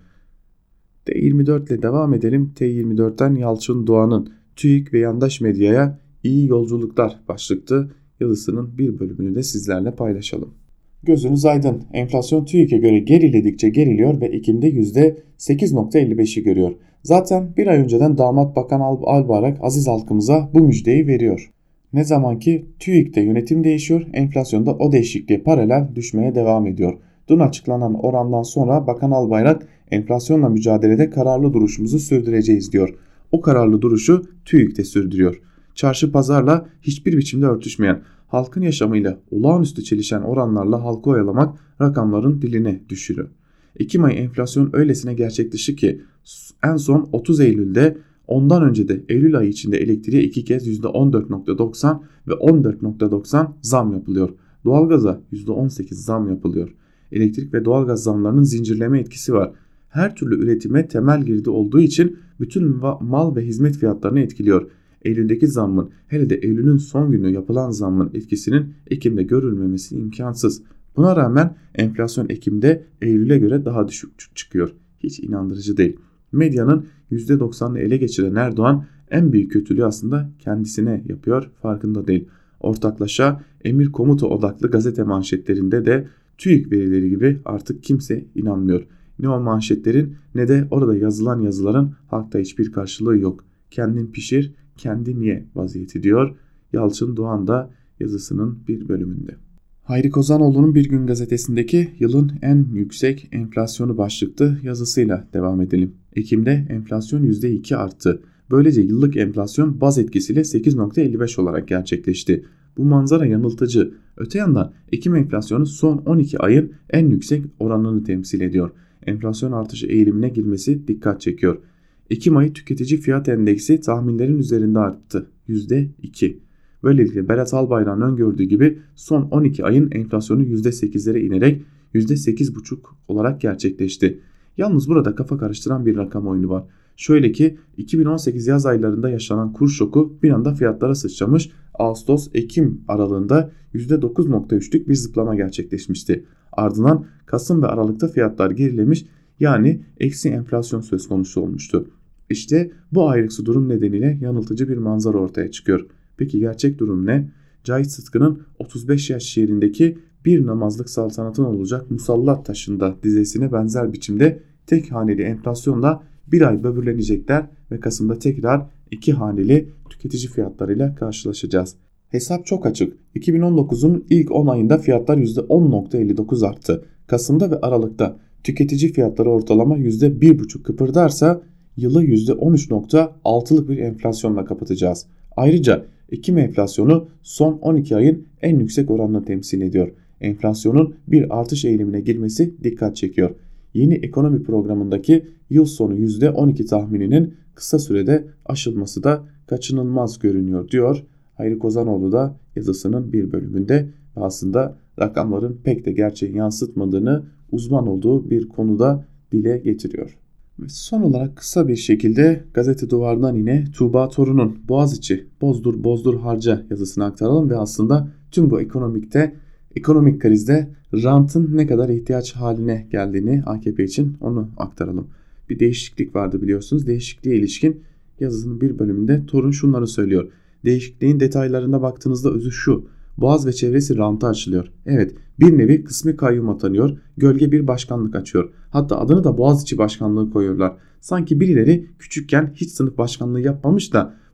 T yirmi dört ile devam edelim. T yirmi dörtten Yalçın Doğan'ın TÜİK ve yandaş medyaya iyi yolculuklar başlıklı yazısının bir bölümünü de sizlerle paylaşalım. Gözünüz aydın. Enflasyon TÜİK'e göre geriledikçe geriliyor ve Ekim'de yüzde sekiz virgül elli beşi görüyor. Zaten bir ay önceden damat bakan Albayrak aziz halkımıza bu müjdeyi veriyor. Ne zaman ki TÜİK'te yönetim değişiyor, enflasyonda o değişikliğe paralel düşmeye devam ediyor. Dün açıklanan orandan sonra Bakan Albayrak enflasyonla mücadelede kararlı duruşumuzu sürdüreceğiz diyor. O kararlı duruşu TÜİK'te sürdürüyor. Çarşı pazarla hiçbir biçimde örtüşmeyen, halkın yaşamıyla olağanüstü çelişen oranlarla halkı oyalamak rakamların diline düşürüyor. Ekim ayı enflasyon öylesine gerçekleşti ki en son otuz Eylül'de, ondan önce de Eylül ayı içinde elektriğe iki kez yüzde on dört virgül doksan ve on dört virgül doksan zam yapılıyor. Doğalgaza yüzde on sekiz zam yapılıyor. Elektrik ve doğalgaz zamlarının zincirleme etkisi var. Her türlü üretime temel girdi olduğu için bütün mal ve hizmet fiyatlarını etkiliyor. Eylül'deki zammın, hele de Eylül'ün son günü yapılan zammın etkisinin Ekim'de görülmemesi imkansız. Buna rağmen enflasyon Ekim'de Eylül'e göre daha düşük çıkıyor. Hiç inandırıcı değil. Medyanın yüzde doksanını ele geçiren Erdoğan en büyük kötülüğü aslında kendisine yapıyor, farkında değil. Ortaklaşa emir komuta odaklı gazete manşetlerinde de TÜİK verileri gibi artık kimse inanmıyor. Ne o manşetlerin ne de orada yazılan yazıların halkta hiçbir karşılığı yok. Kendin pişir, kendin ye vaziyeti diyor Yalçın Doğan da yazısının bir bölümünde. Hayri Kozanoğlu'nun Bir Gün gazetesindeki yılın en yüksek enflasyonu başlıklı yazısıyla devam edelim. Ekim'de enflasyon yüzde iki arttı. Böylece yıllık enflasyon baz etkisiyle sekiz virgül elli beş olarak gerçekleşti. Bu manzara yanıltıcı. Öte yandan Ekim enflasyonu son on iki ayın en yüksek oranını temsil ediyor. Enflasyon artışı eğilimine girmesi dikkat çekiyor. Ekim ayı tüketici fiyat endeksi tahminlerin üzerinde arttı. yüzde iki. Böylelikle Berat Albayrak'ın öngördüğü gibi son on iki ayın enflasyonu yüzde sekizlere inerek yüzde sekiz virgül beş olarak gerçekleşti. Yalnız burada kafa karıştıran bir rakam oyunu var. Şöyle ki iki bin on sekiz yaz aylarında yaşanan kur şoku bir anda fiyatlara sıçramış. Ağustos-Ekim aralığında yüzde dokuz virgül üçlük bir zıplama gerçekleşmişti. Ardından Kasım ve Aralık'ta fiyatlar gerilemiş, yani eksi enflasyon söz konusu olmuştu. İşte bu ayrıksı durum nedeniyle yanıltıcı bir manzara ortaya çıkıyor. Peki gerçek durum ne? Cahit Sıtkı'nın otuz beş yaş şiirindeki bir namazlık saltanatın olacak musallat taşında dizesine benzer biçimde tek haneli enflasyonla bir ay böbürlenecekler ve Kasım'da tekrar iki haneli tüketici fiyatlarıyla karşılaşacağız. Hesap çok açık. iki bin on dokuzun ilk on ayında fiyatlar yüzde on virgül elli dokuz arttı. Kasım'da ve Aralık'ta tüketici fiyatları ortalama yüzde bir virgül beş kıpırdarsa yılı yüzde on üç virgül altılık bir enflasyonla kapatacağız. Ayrıca Ekim enflasyonu son on iki ayın en yüksek oranını temsil ediyor. Enflasyonun bir artış eğilimine girmesi dikkat çekiyor. Yeni ekonomi programındaki yıl sonu yüzde on iki tahmininin kısa sürede aşılması da kaçınılmaz görünüyor diyor Hayri Kozanoğlu da yazısının bir bölümünde. Aslında rakamların pek de gerçeği yansıtmadığını uzman olduğu bir konuda dile getiriyor. Ve son olarak kısa bir şekilde gazete duvarından yine Tuğba Torun'un Boğaziçi bozdur bozdur harca yazısını aktaralım ve aslında tüm bu ekonomikte ekonomik krizde rantın ne kadar ihtiyaç haline geldiğini A K P için onu aktaralım. Bir değişiklik vardı biliyorsunuz. Değişikliğe ilişkin yazısının bir bölümünde Torun şunları söylüyor. Değişikliğin detaylarına baktığınızda özü şu: Boğaz ve çevresi ranta açılıyor. Evet, bir nevi kısmi kayyum atanıyor, gölge bir başkanlık açıyor. Hatta adını da Boğaziçi Başkanlığı koyuyorlar. Sanki birileri küçükken hiç sınıf başkanlığı yapmamış da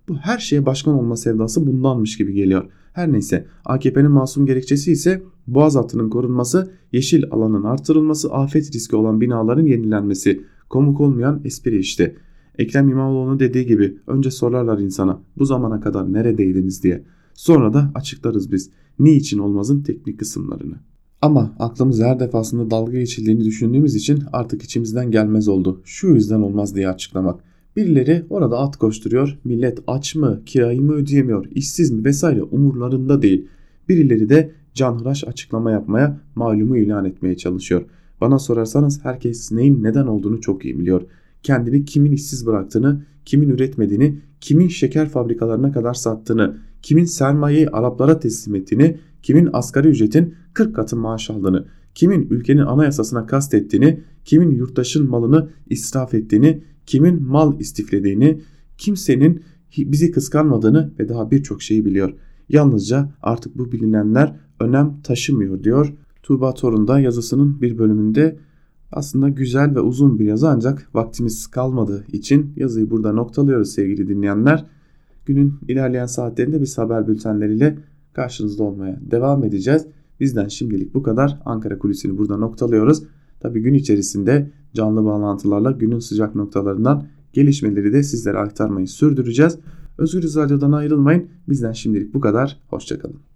Bu her şeye başkan olma sevdası bundanmış gibi geliyor. Her neyse, A K P'nin masum gerekçesi ise boğaz hattının korunması, yeşil alanın artırılması, afet riski olan binaların yenilenmesi. Komuk olmayan espri işte. Ekrem İmamoğlu'nun dediği gibi önce sorarlar insana bu zamana kadar neredeydiniz diye. Sonra da açıklarız biz niçin olmazın teknik kısımlarını. Ama aklımız her defasında dalga geçildiğini düşündüğümüz için artık içimizden gelmez oldu. Şu yüzden olmaz diye açıklamak. Birileri orada at koşturuyor, millet aç mı, kirayı mı ödeyemiyor, işsiz mi vesaire umurlarında değil. Birileri de canhıraş açıklama yapmaya, malumu ilan etmeye çalışıyor. Bana sorarsanız herkes neyin neden olduğunu çok iyi biliyor. Kendini kimin işsiz bıraktığını, kimin üretmediğini, kimin şeker fabrikalarına kadar sattığını, kimin sermayeyi Araplara teslim ettiğini, kimin asgari ücretin kırk katı maaş aldığını, kimin ülkenin anayasasına kastettiğini, kimin yurttaşın malını israf ettiğini, kimin mal istiflediğini, kimsenin bizi kıskanmadığını ve daha birçok şeyi biliyor. Yalnızca artık bu bilinenler önem taşımıyor diyor. Tuğba Torun da yazısının bir bölümünde. Aslında güzel ve uzun bir yazı ancak vaktimiz kalmadığı için yazıyı burada noktalıyoruz sevgili dinleyenler. Günün ilerleyen saatlerinde biz haber bültenleriyle karşınızda olmaya devam edeceğiz. Bizden şimdilik bu kadar. Ankara Kulisi'ni burada noktalıyoruz. Tabii gün içerisinde canlı bağlantılarla günün sıcak noktalarından gelişmeleri de sizlere aktarmayı sürdüreceğiz. Özgürüz Radyo'dan ayrılmayın. Bizden şimdilik bu kadar. Hoşça kalın.